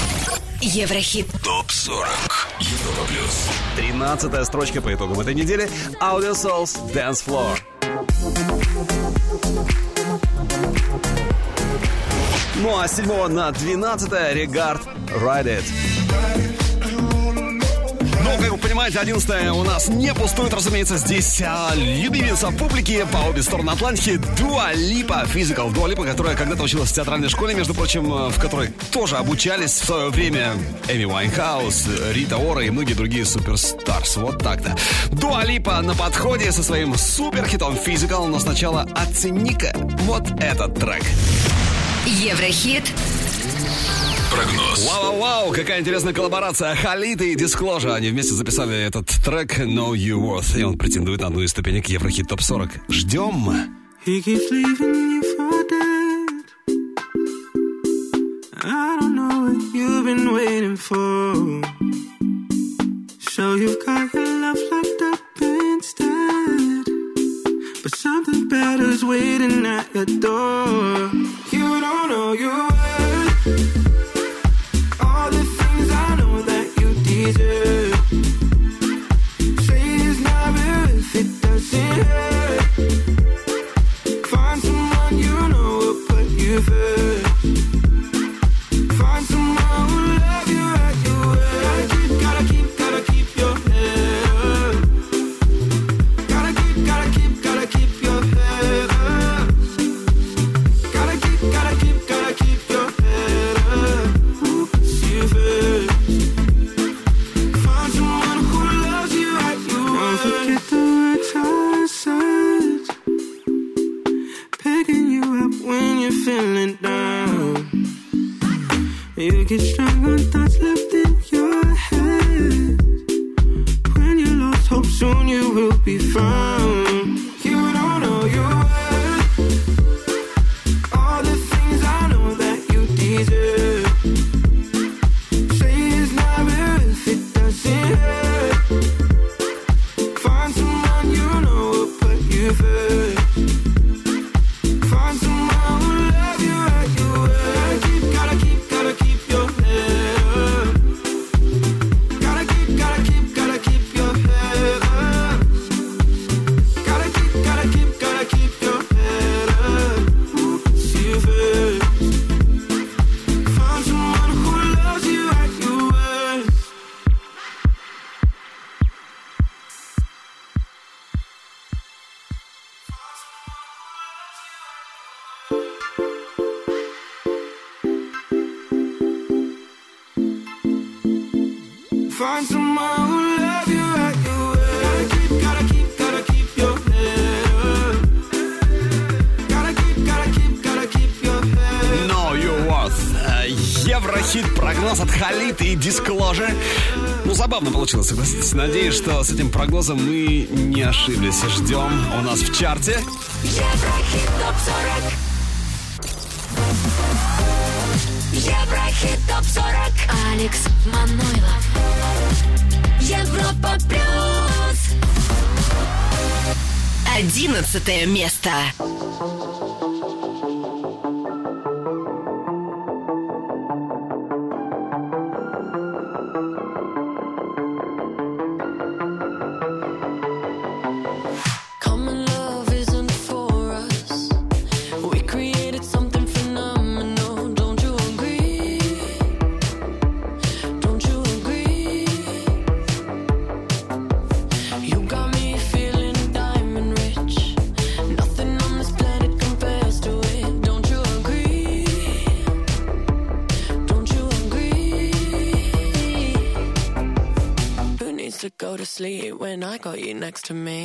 Еврохит топ сорок. Европа плюс. тринадцатая строчка по итогам этой недели. Audio Souls Dance Floor. Ну а с седьмого на двенадцатое Regard Ride It. Ну, как вы понимаете, одиннадцатое у нас не пустует, разумеется. Здесь а, любимица публики по обе стороны Атлантики Дуа Липа, Physical. Дуа Липа, которая когда-то училась в театральной школе, между прочим, в которой тоже обучались в свое время Эми Уайнхаус, Рита Ора и многие другие суперстарс. Вот так-то. Дуа Липа на подходе со своим суперхитом Physical, но сначала оцени-ка вот этот трек. Еврохит. Прогноз. Вау-вау-вау, какая интересная коллаборация. Халид и Disclosure. Они вместе записали этот трек Know You Worth. И он претендует на одну из ступенек Еврохит топ сорок. Ждем. He keeps leaving you for dead. I don't know what you've been waiting for. So you've got your love locked up instead. But something better's waiting at your door. You don't know your worth. All the things I know that you deserve. Say it's not real if it doesn't hurt. Find someone you know will put you first. Find someone who'll love you at your word. Gotta keep, gotta keep, gotta keep your head up. Gotta keep, gotta keep, gotta keep your head up. Gotta keep, gotta keep, gotta keep your head up. Who puts you first? Find someone who loves you at your word. Don't forget the words I said. Picking you up when you're feeling down. You get strong on thoughts left in your head. When you lost hope, soon you will be found. You don't know your worth. All the things I know that you deserve. Say it's not real if it doesn't hurt. Find someone you know will put you first. Find someone Find someone who love you right your way. Gotta keep, gotta keep, gotta keep your head up. Gotta keep, gotta keep, gotta keep your head up. Know Your Worth. Еврохит, прогноз от Khalid и Disclosure. Ну, забавно получилось, согласитесь. Надеюсь, что с этим прогнозом мы не ошиблись. Ждем у нас в чарте. Еврохит топ сорок. Еврохит топ сорок. Алекс Манойлов. Европа плюс. Одиннадцатое место. Sleep when I got you next to me.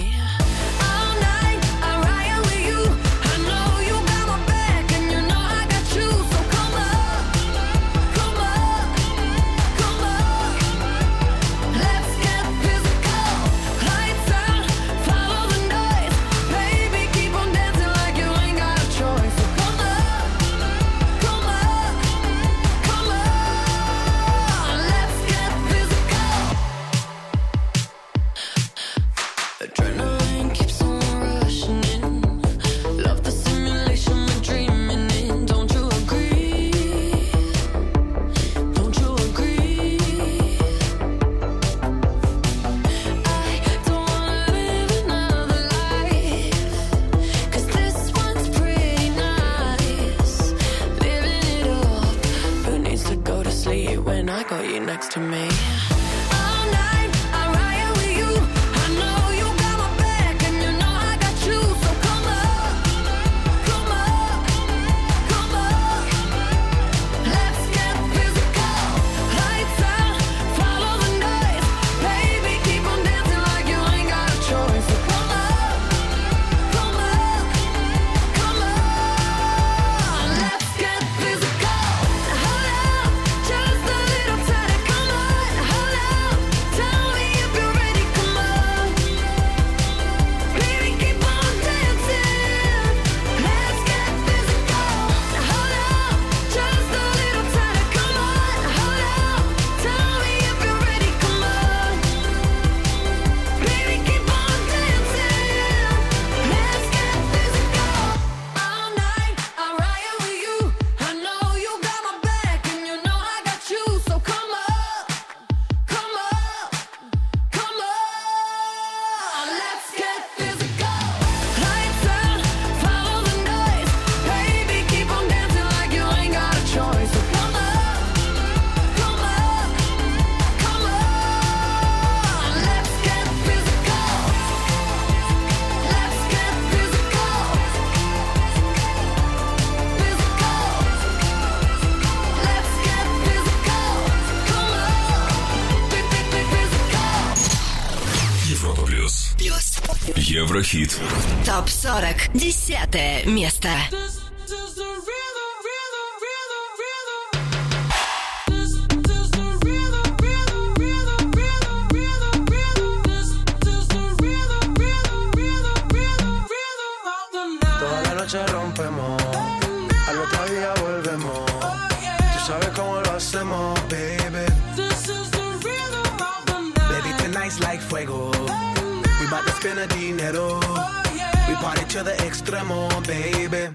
Еврохит. топ сорок. Десятое место. Toda la noche rompemos, al otro día volvemos. Tú sabes cómo lo hacemos, baby. Baby, tonight's like fuego. We bout to spend a dinero. We party to the extremo, baby.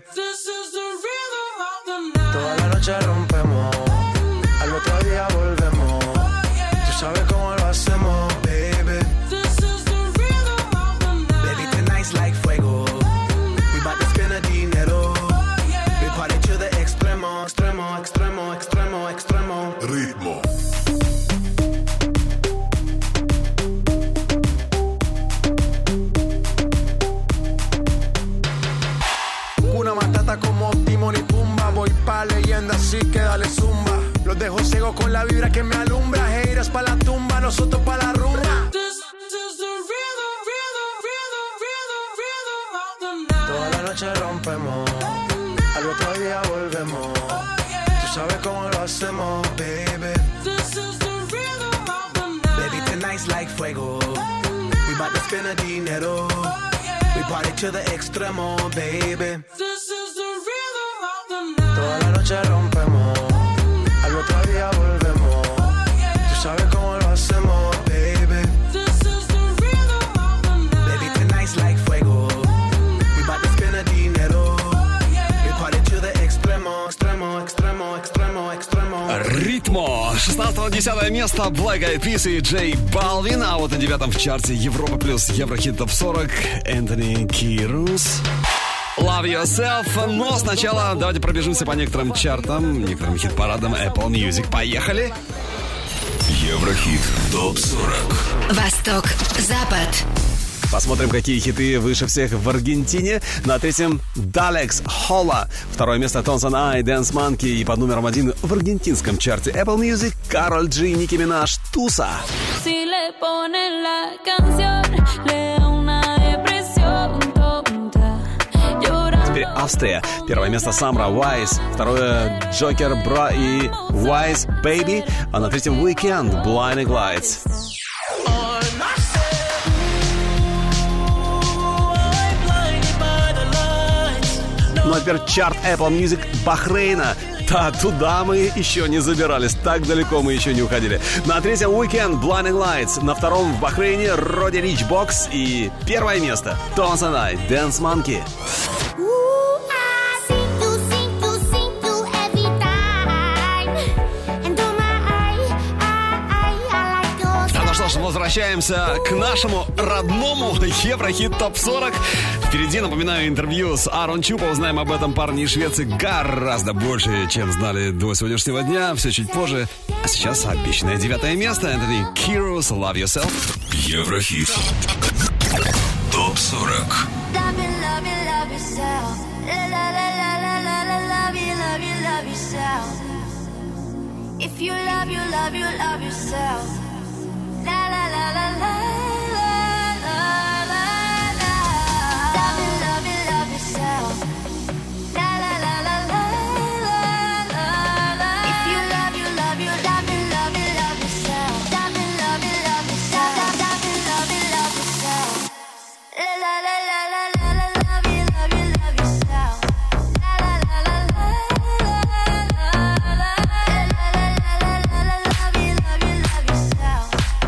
Toda la noche rompemos, al otro día volvemos. Tú sabes cómo lo hacemos, baby. Baby, tonight's like fuego. We bout to spend a dinero. We party to the extremo, extremo, extremo, extremo, extremo. Ritmo. Como Timón y Pumba, voy pa' leyenda, así que dale zumba. Los dejo ciego con la vibra que me alumbra. Haters pa' la tumba, no Toda la noche rompemos, al otro día volvemos. Tú sabes cómo lo hacemos, baby. This is the rhythm of the night. Baby, tonight's like fuego. We bout to spend a dinero. We party to the extremo, baby. This is the rhythm of the night. Toda la noche rompemos, al otro día volvemos. Tú sabes cómo lo hacemos, baby. This is the rhythm of the night. Baby, tonight's like fuego. We bout to spend a dinero. We party to the extremo, extremo, extremo, extremo, extremo. Ритмо. шестнадцатое-десятое место Black Eyed Peas и Джей Балвин. А вот на девятом в чарте Европа плюс Еврохит топ сорок Энтони Кирус. Love Yourself. Но сначала давайте пробежимся по некоторым чартам, некоторым хит-парадам Apple Music. Поехали. Еврохит топ сорок. Восток, Запад. Посмотрим, какие хиты выше всех в Аргентине. На третьем Далекс Холла. Второе место Tones and I, Dance Monkey. И под номером один в аргентинском чарте Apple Music Кароль Джи, Ники Минаж, Туса. Si le ponen la canción, le da una depresión tonta. Llorando. Теперь Австрия. Первое место Самра, Wise. Второе Джокер, Бра и Wise, Baby. А на третьем Weekend, Blinding Lights. Ну а теперь чарт Apple Music Бахрейна. Да, туда мы еще не забирались. Так далеко мы еще не уходили. На третьем Weekend Blinding Lights. На втором в Бахрейне Роди Рич Бокс. И первое место Tones and I, Dance Monkey. Что ж, возвращаемся к нашему родному Еврохит топ сорок. Впереди, напоминаю, интервью с Аарон Чупа. Узнаем об этом парне из Швеции гораздо больше, чем знали до сегодняшнего дня. Все чуть позже. А сейчас обещанное девятое место. Энтони Кирус, Love Yourself. Еврохит топ сорок. If you love, you love, you love yourself. La la la la la la la la la. Love it, love it, love yourself. La la la la la la la la. If you love, you love, you love it, love it, love yourself. Love it, love it, love yourself. Love it, love it, love yourself. La la la la la la la. Love it, love it, love yourself. La la la la la la la la. La la la la la la. Love it, love it, love yourself.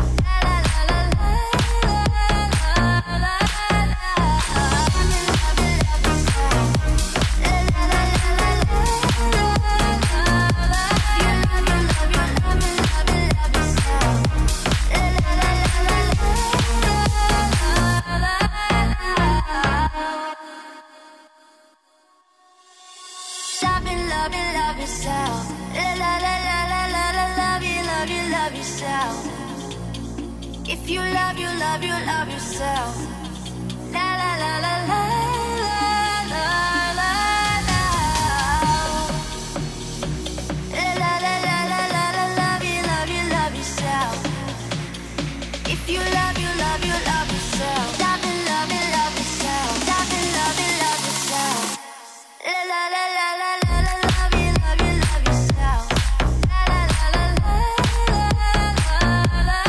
If you love, you love, you love yourself. La la la la la la la la la. La la la la la la. Love you, love you, love yourself. If you love, you love, you love yourself. Love it, love it, love yourself. Love it, love it, love yourself. La la la la la la. Love you, love you, love yourself. La la la la la la la.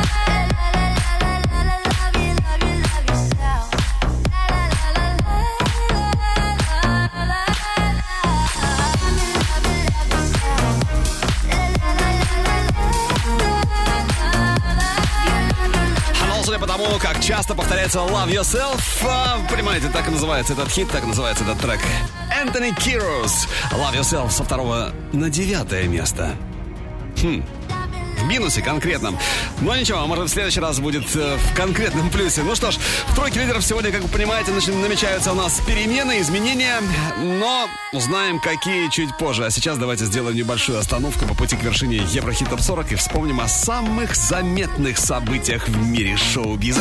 Потому как часто повторяется Love Yourself. А, понимаете, так и называется этот хит, так и называется этот трек. Энтони Кирус, Love Yourself со второго на девятое место. Хм, в минусе конкретном. Но ничего, может в следующий раз будет э, в конкретном плюсе. Ну что ж, в тройке лидеров сегодня, как вы понимаете, намечаются у нас перемены, изменения. Но узнаем, какие чуть позже. А сейчас давайте сделаем небольшую остановку по пути к вершине Еврохит топ сорок и вспомним о самых заметных событиях в мире шоу-биза.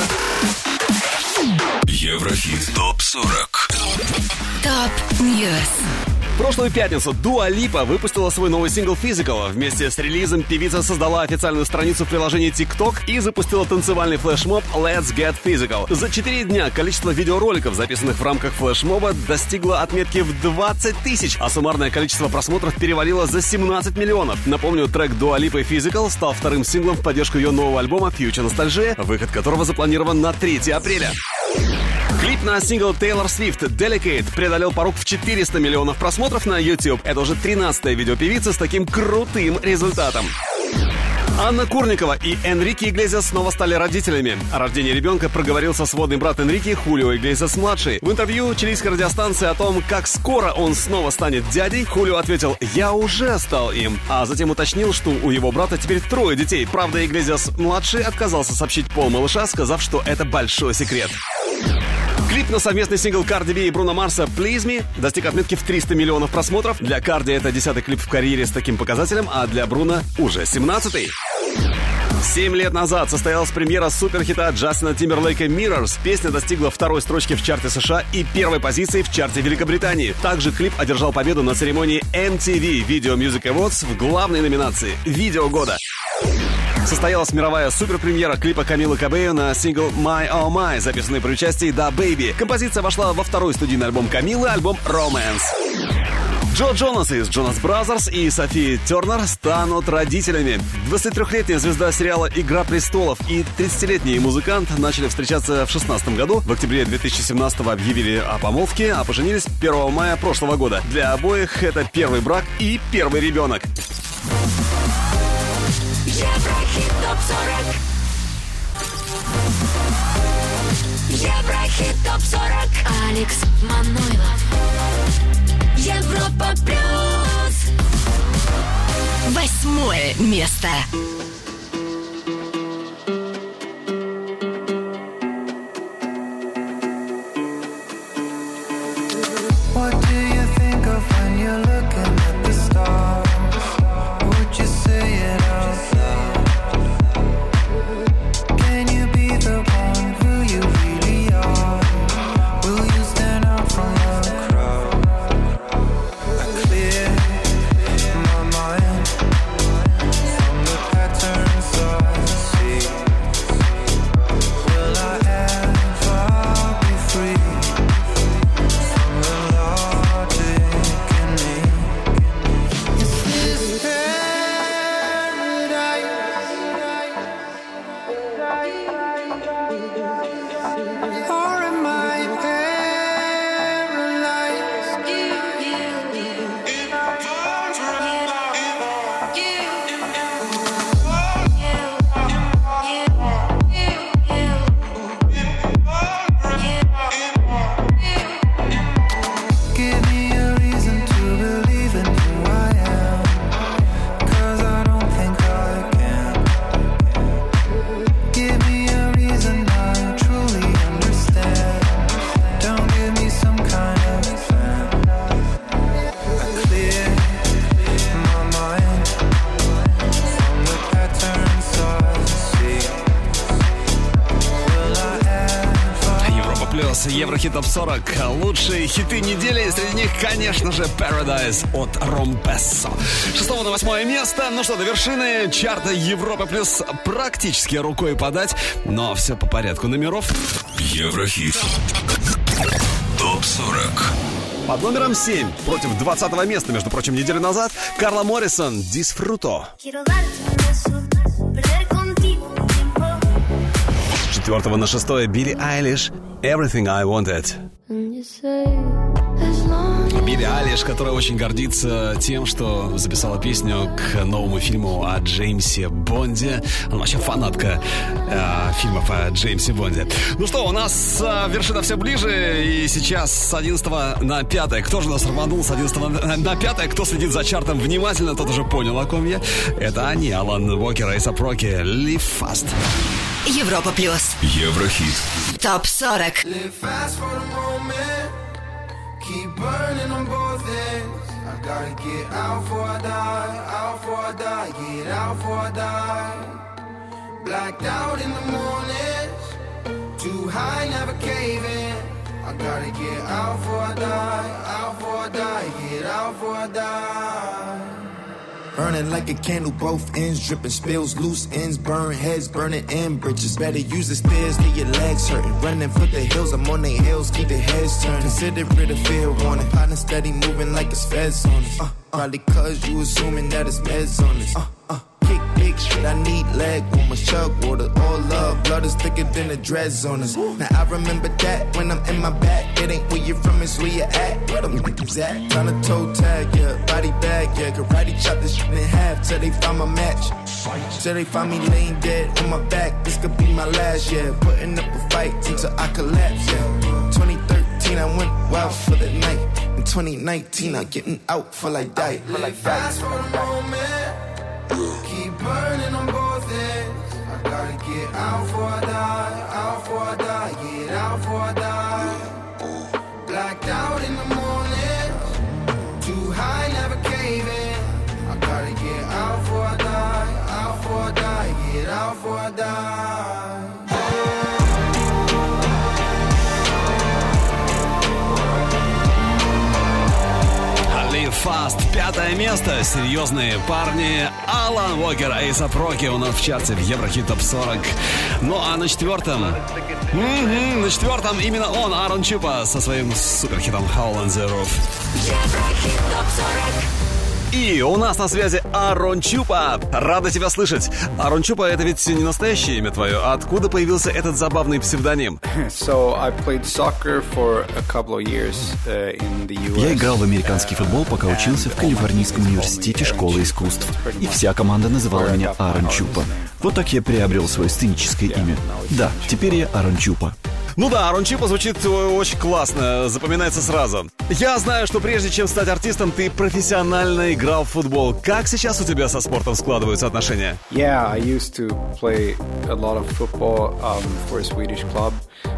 Еврохит топ сорок. Топ Ньюс. В прошлую пятницу Дуа Липа выпустила свой новый сингл Physical. Вместе с релизом певица создала официальную страницу в приложении TikTok и запустила танцевальный флешмоб Let's Get Physical. За четыре дня количество видеороликов, записанных в рамках флешмоба, достигло отметки в двадцать тысяч, а суммарное количество просмотров перевалило за семнадцать миллионов. Напомню, трек Дуа Липы Physical стал вторым синглом в поддержку ее нового альбома Future Nostalgia, выход которого запланирован на третьего апреля. Клип на сингл Taylor Swift Delicate преодолел порог в четыреста миллионов просмотров на YouTube. Это уже тринадцатая видеопевица с таким крутым результатом. Анна Курникова и Энрике Иглесиас снова стали родителями. О рождении ребенка проговорился сводный брат Энрике Хулио Иглесиас-младший. В интервью чилийской радиостанции о том, как скоро он снова станет дядей, Хулио ответил: «Я уже стал им», а затем уточнил, что у его брата теперь трое детей. Правда, Иглесиас-младший отказался сообщить пол малыша, сказав, что это большой секрет. Клип на совместный сингл Карди Би и Бруно Марса «Please Me» достиг отметки в триста миллионов просмотров. Для Карди это десятый клип в карьере с таким показателем, а для Бруно уже семнадцатый. Семь лет назад состоялась премьера суперхита Джастина Тимберлейка «Mirrors». Песня достигла второй строчки в чарте США и первой позиции в чарте Великобритании. Также клип одержал победу на церемонии эм ти ви Video Music Awards в главной номинации «Видео года». Состоялась мировая суперпремьера клипа Камилы Кабео на сингл «My Oh My», записанный при участии Да Бэйби. Композиция вошла во второй студийный альбом Камилы, альбом «Romance». Джо Джонас из Jonas Brothers и София Тернер станут родителями. двадцатитрёхлетняя звезда сериала «Игра престолов» и тридцатилетний музыкант начали встречаться в шестнадцатом году. В октябре две тысячи семнадцатого объявили о помолвке, а поженились первого мая прошлого года. Для обоих это первый брак и первый ребенок. Еврохит топ сорок. Еврохит топ сорок. Алекс Манойлов. Европа плюс. Восьмое место. What do you think of when you're looking at the stars? Would you say it out loud? Can you be the one who you really are? Will you stand out from the crowd? I clear my mind from the patterns I see. Will I ever be free? Еврохит топ сорок. Лучшие хиты недели. Среди них, конечно же, Paradise от Ромпессо. Шестого на восьмое место. Ну что, до вершины чарта Европа плюс практически рукой подать. Но все по порядку номеров. Еврохит топ сорок. Под номером семь, против двадцатого места, между прочим, неделю назад, Карла Моррисон «Disfruto». С четвертого на шестое Билли Айлиш «Everything I Wanted». Билли Айлиш, которая очень гордится тем, что записала песню к новому фильму о Джеймсе Бонде. Она вообще фанатка э, фильмов о Джеймсе Бонде. Ну что, у нас э, вершина все ближе. И сейчас с одиннадцатого на пятое. Кто же нас рванул с одиннадцатого на, на пятое? Кто следит за чартом внимательно, тот уже понял, о ком я. Это они, Алан Уокер и Эйсап Роки. Live Fast. Европа плюс. Еврохит. Топ сорок. Keep burning on both ends. I gotta get out before I die, out before I die, get out before I die. Blacked out in the mornings, too high, never caving. I gotta get out before I die, out before I die, get out before I die. Burning like a candle, both ends dripping, spills, loose ends, burn heads, burning in bridges. Better use the stairs, get your legs hurting. Running for the hills, I'm on their heels, keep their heads turned. Consider it a fair warning. Partner steady moving like it's feds on us. Uh, uh, probably cause you assuming that it's meds on us. Uh, uh. Kick big shit, I need leg warmers, chug water, all love, blood is thicker than the dreads on us. Now I remember that when I'm in my back, it ain't where you're from, it's where you at. Where them niggas at? Tryna toe tag, yeah, body bag, yeah, karate chop this shit in half till they find my match. Till they find me laying dead on my back, this could be my last, yeah. Putting up a fight until I collapse, yeah. twenty thirteen, I went wild for the night. In twenty nineteen, I'm getting out for like die, for like die. Fast for the moment. Keep burning on both ends. I gotta get out before I die, out before I die, get out before I die. Blacked out in the morning, too high, never cave in. I gotta get out before I die, out before I die, get out before I die. Fast. Пятое место. Серьезные парни. Алан Уокер, A$эй$эй Rocky у нас в чарте в Еврохит Топ сорок. Ну а на четвертом... Mm-hmm, на четвертом именно он, Аарон Чупа, со своим суперхитом Hole in the Roof. Еврохит Топ сорок. И у нас на связи Аарон Чупа. Рада тебя слышать. Аарон Чупа, это ведь не настоящее имя твое. Откуда появился этот забавный псевдоним? So, I played soccer for a couple of years, uh, in the ю эс. Я играл в американский футбол, пока учился в Калифорнийском университете школы искусств. И вся команда называла меня Аарон Чупа. Вот так я приобрел свое сценическое имя. Да, теперь я Аарон Чупа. Ну да, Аарон Чупа звучит очень классно, запоминается сразу. Я знаю, что прежде чем стать артистом, ты профессионально играл в футбол. Как сейчас у тебя со спортом складываются отношения? Yeah, I used to play a lot of football um, for a Swedish club.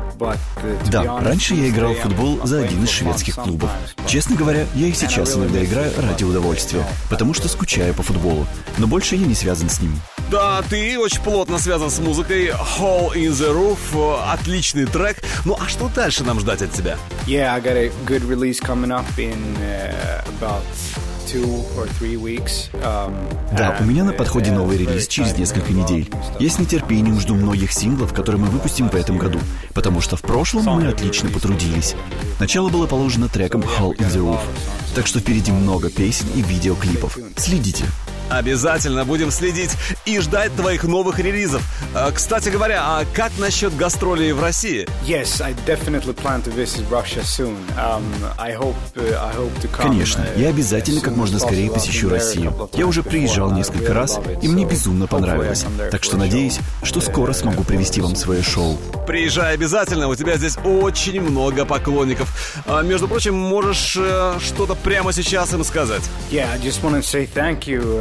Да, раньше я играл в футбол за один из шведских клубов. Честно говоря, я и сейчас иногда играю ради удовольствия, потому что скучаю по футболу, но больше я не связан с ним. Да, ты очень плотно связан с музыкой. Hole in the Roof, отличный трек. Ну а что дальше нам ждать от тебя? Yeah, I got a good release coming up in uh, about two or three weeks. Um, да, у меня на подходе новый релиз через несколько недель. Я с нетерпением жду многих синглов, которые мы выпустим в этом году, потому что в прошлом мы отлично потрудились. Начало было положено треком Hole in the Roof, так что впереди много песен и видеоклипов. Следите. Обязательно будем следить и ждать твоих новых релизов. Кстати говоря, а как насчет гастролей в России? Yes, I definitely plan to visit Russia soon. Um, I hope, uh, I hope to come. Конечно, я обязательно как можно скорее посещу Россию. Я уже приезжал несколько раз, и мне безумно понравилось. Так что надеюсь, что скоро смогу привести вам свое шоу. Приезжай обязательно, у тебя здесь очень много поклонников. А, между прочим, можешь э, что-то прямо сейчас им сказать. Yeah, I just want to say thank you.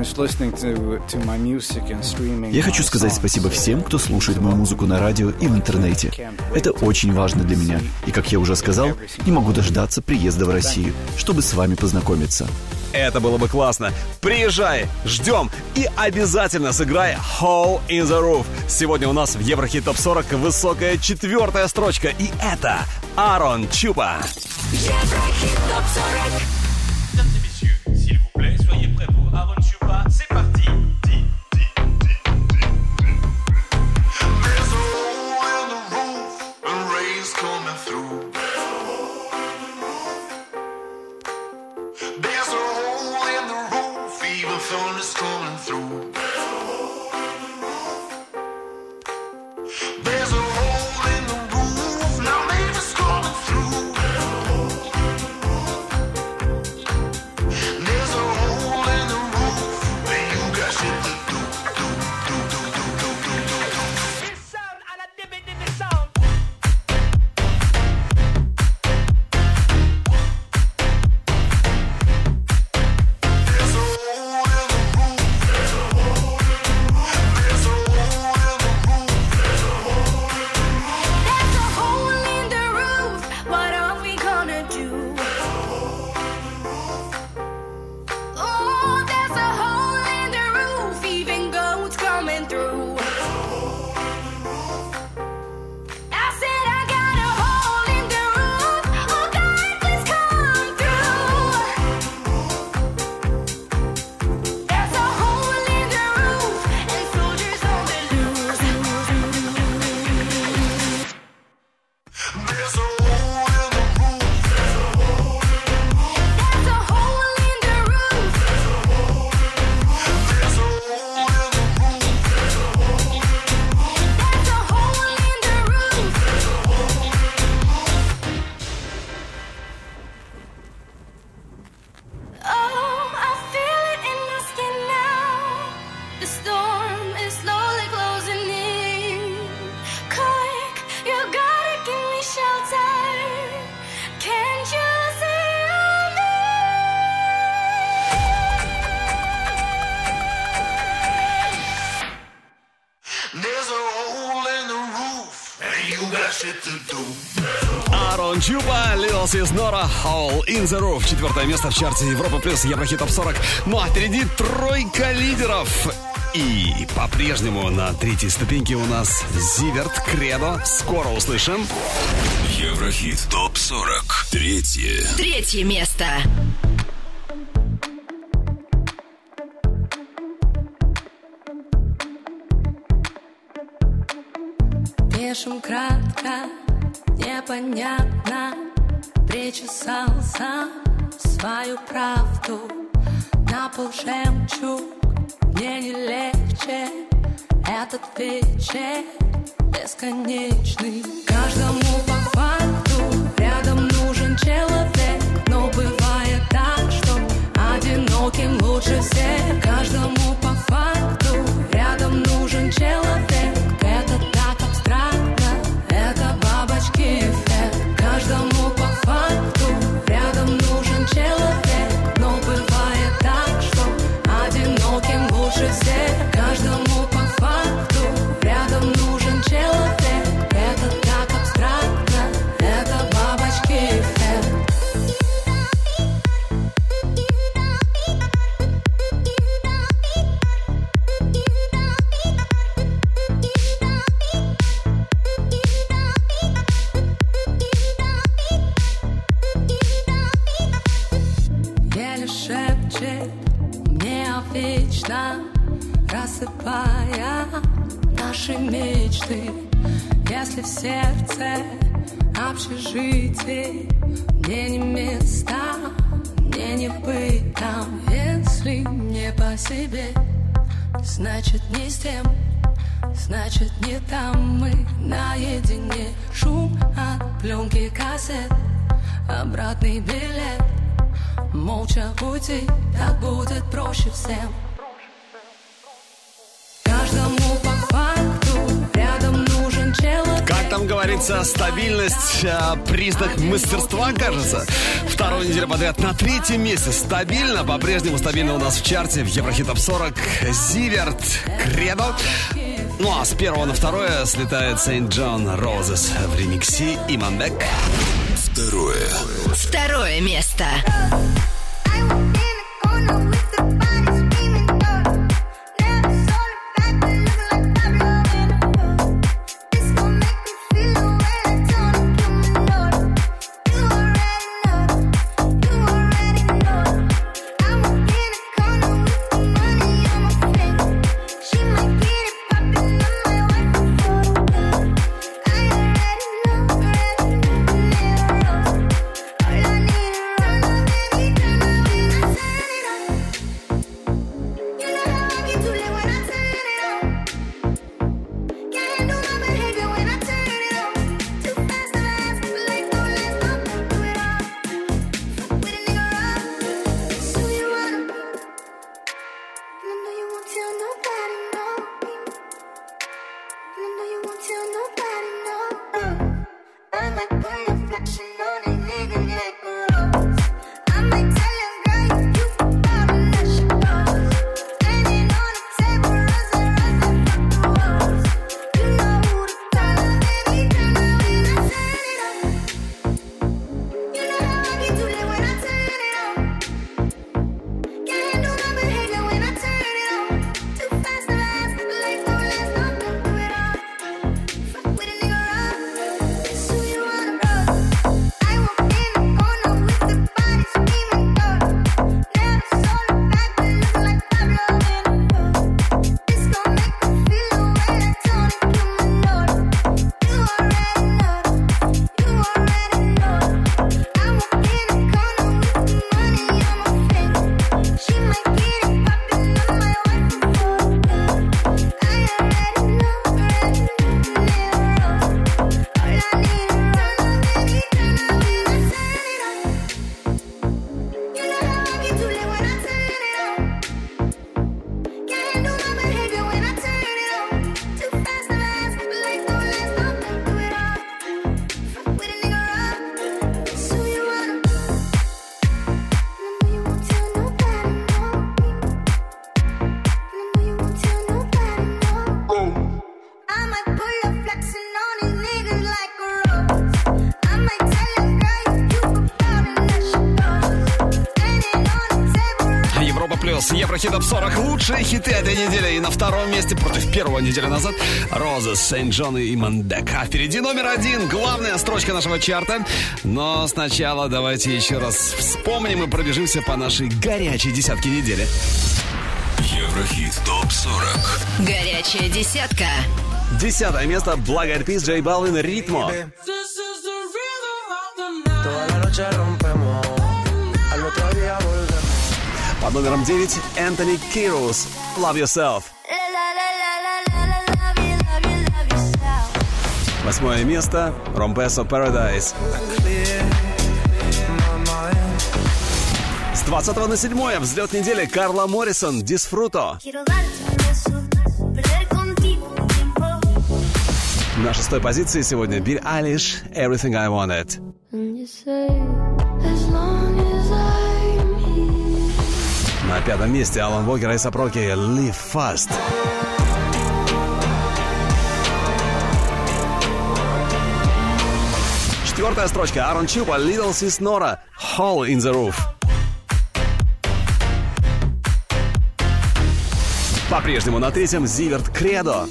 Я хочу сказать спасибо всем, кто слушает мою музыку на радио и в интернете. Это очень важно для меня. И, как я уже сказал, не могу дождаться приезда в Россию, чтобы с вами познакомиться. Это было бы классно. Приезжай, ждем и обязательно сыграй Hole in the Roof. Сегодня у нас в Еврохит Топ сорок высокая четвертая строчка. И это Аарон Чупа. Еврохит Топ сорок. Soyez prêts pour Aaron Chupa, c'est parti. There's a hole in the roof and rain's coming through. There's a hole in the roof, even thunder's coming through. There's a hole in the roof, now neighbors coming through. There's a hole in the roof, and you got shit to do, do, do, do, do, do, do, do, do. This sound and a dimmed in the sound. There's a hole in the roof. Аарон Чупа, Lil Sis Nora, Hole in the Roof. Четвертое место в чарте Европа плюс Еврохит топ сорок. Ну а впереди тройка лидеров. И по-прежнему на третьей ступеньке у нас Зиверт, Кредо. Скоро услышим. Еврохит топ сорок. Третье. Третье место. Пишем кратко, непонятно. Причесался свою правду. На пол жемчуг, мне не легче. Этот вечер бесконечный. Каждому по факту рядом нужен человек. Но бывает так, что одиноким лучше всех. Каждому по факту рядом нужен человек. Это так абстрактно, это бабочки эффект. Каждому по факту рядом нужен человек. Но бывает так, что одиноким лучше всех. Каждому по факту рядом нужен человек. Это так абстрактно, это бабочки эффект. Еле шепчет мне вечно, рассыпая наши мечты. Если в сердце общежитие, мне не место, мне не быть там. Если не по себе, значит не с тем, значит не там. Мы наедине, шум от пленки кассет, обратный билет. Молча уйти, так будет проще всем. Каждому по факту рядом нужен человек. Как там говорится, стабильность а, признак мастерства, кажется. Вторую неделю подряд на третьем месте. Стабильно, по-прежнему стабильно у нас в чарте в Еврохит топ сорок Зиверт, Кредо. Ну а с первого на второе слетает Saint John Roses в ремиксе Иманбек. Второе. Второе место. плюс. Еврохит Топ сорок. Лучшие хиты этой недели. И на втором месте против первого неделю назад Роза, Сент-Джон и Мандек. А впереди номер один. Главная строчка нашего чарта. Но сначала давайте еще раз вспомним и пробежимся по нашей горячей десятке недели. Еврохит Топ сорок. Горячая десятка. Десятое место. Black Eyed Peas, Джей Балвин, Ритмо. Под номером девять Энтони Кирус, Love Yourself. Восьмое место Ромпесо, Paradise. С двадцатого на седьмое взлет недели Карла Моррисон, Disfruto. На шестой позиции сегодня Билли Айлиш, Everything I Wanted. На пятом месте Алан Вокер и Сапроки, Live Fast. Четвертая строчка Аарон Чупа, Little Sis Nora, Hole in the Roof. По-прежнему на третьем Зиверт, Кредо.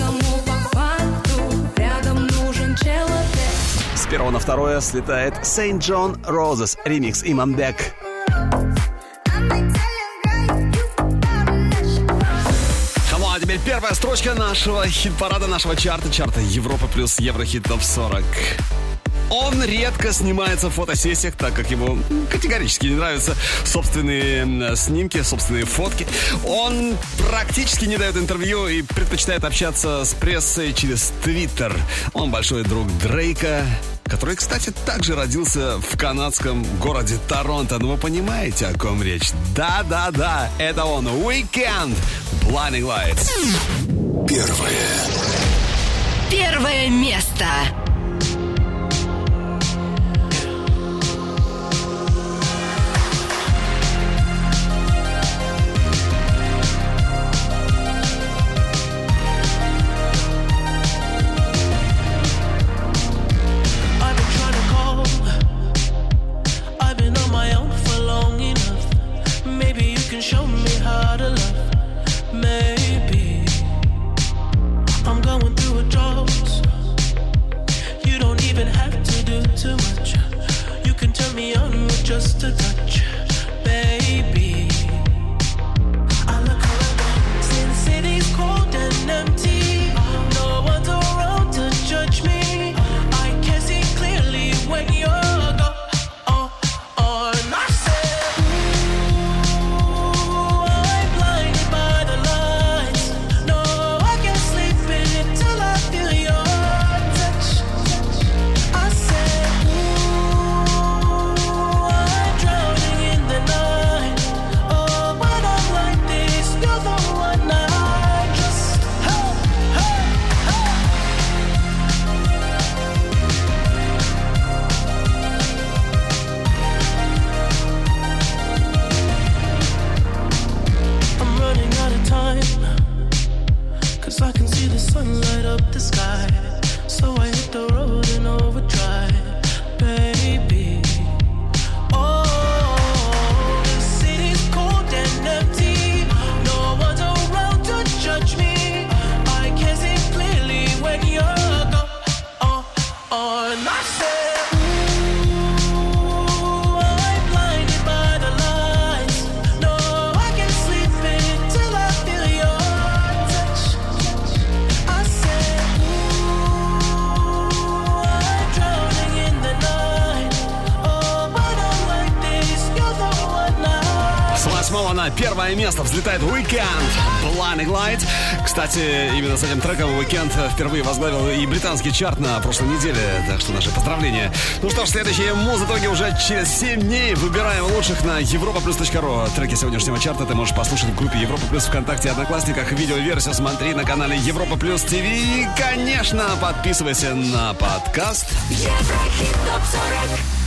С первого на второе слетает Сент-Джон, Roses, ремикс Иманбек. А теперь первая строчка нашего хит-парада, нашего чарта, чарта Европа плюс Еврохит Топ сорок. Он редко снимается в фотосессиях, так как ему категорически не нравятся собственные снимки, собственные фотки. Он практически не дает интервью и предпочитает общаться с прессой через Твиттер. Он большой друг Дрейка, который, кстати, также родился в канадском городе Торонто. Ну, вы понимаете, о ком речь? Да-да-да, это он, Weekend, Blinding Lights. Первое. Первое место. Show me how to love, maybe. I'm going through a drought. You don't even have to do too much. You can turn me on with just a touch, baby. I look around, since city's cold and empty. No one's around to judge me. I can see clearly when you're gone. Oh, oh, and I say. I can see the sun light up the sky, so I hit the road in overdrive, baby. Oh, the city's cold and empty. No one's around to judge me. I can see clearly when you're gone. Oh, oh, and I said. На первое место взлетает Weekend, Blinding Light. Кстати, именно с этим треком Weekend впервые возглавил и британский чарт на прошлой неделе. Так что наши поздравления. Ну что ж, следующие муз-итоги уже через семь дней. Выбираем лучших на европа плюс точка ру. Треки сегодняшнего чарта ты можешь послушать в группе Европа Плюс ВКонтакте и Одноклассниках. Видеоверсию смотри на канале Европа Плюс ТВ. И, конечно, подписывайся на подкаст Еврохит Топ сорок.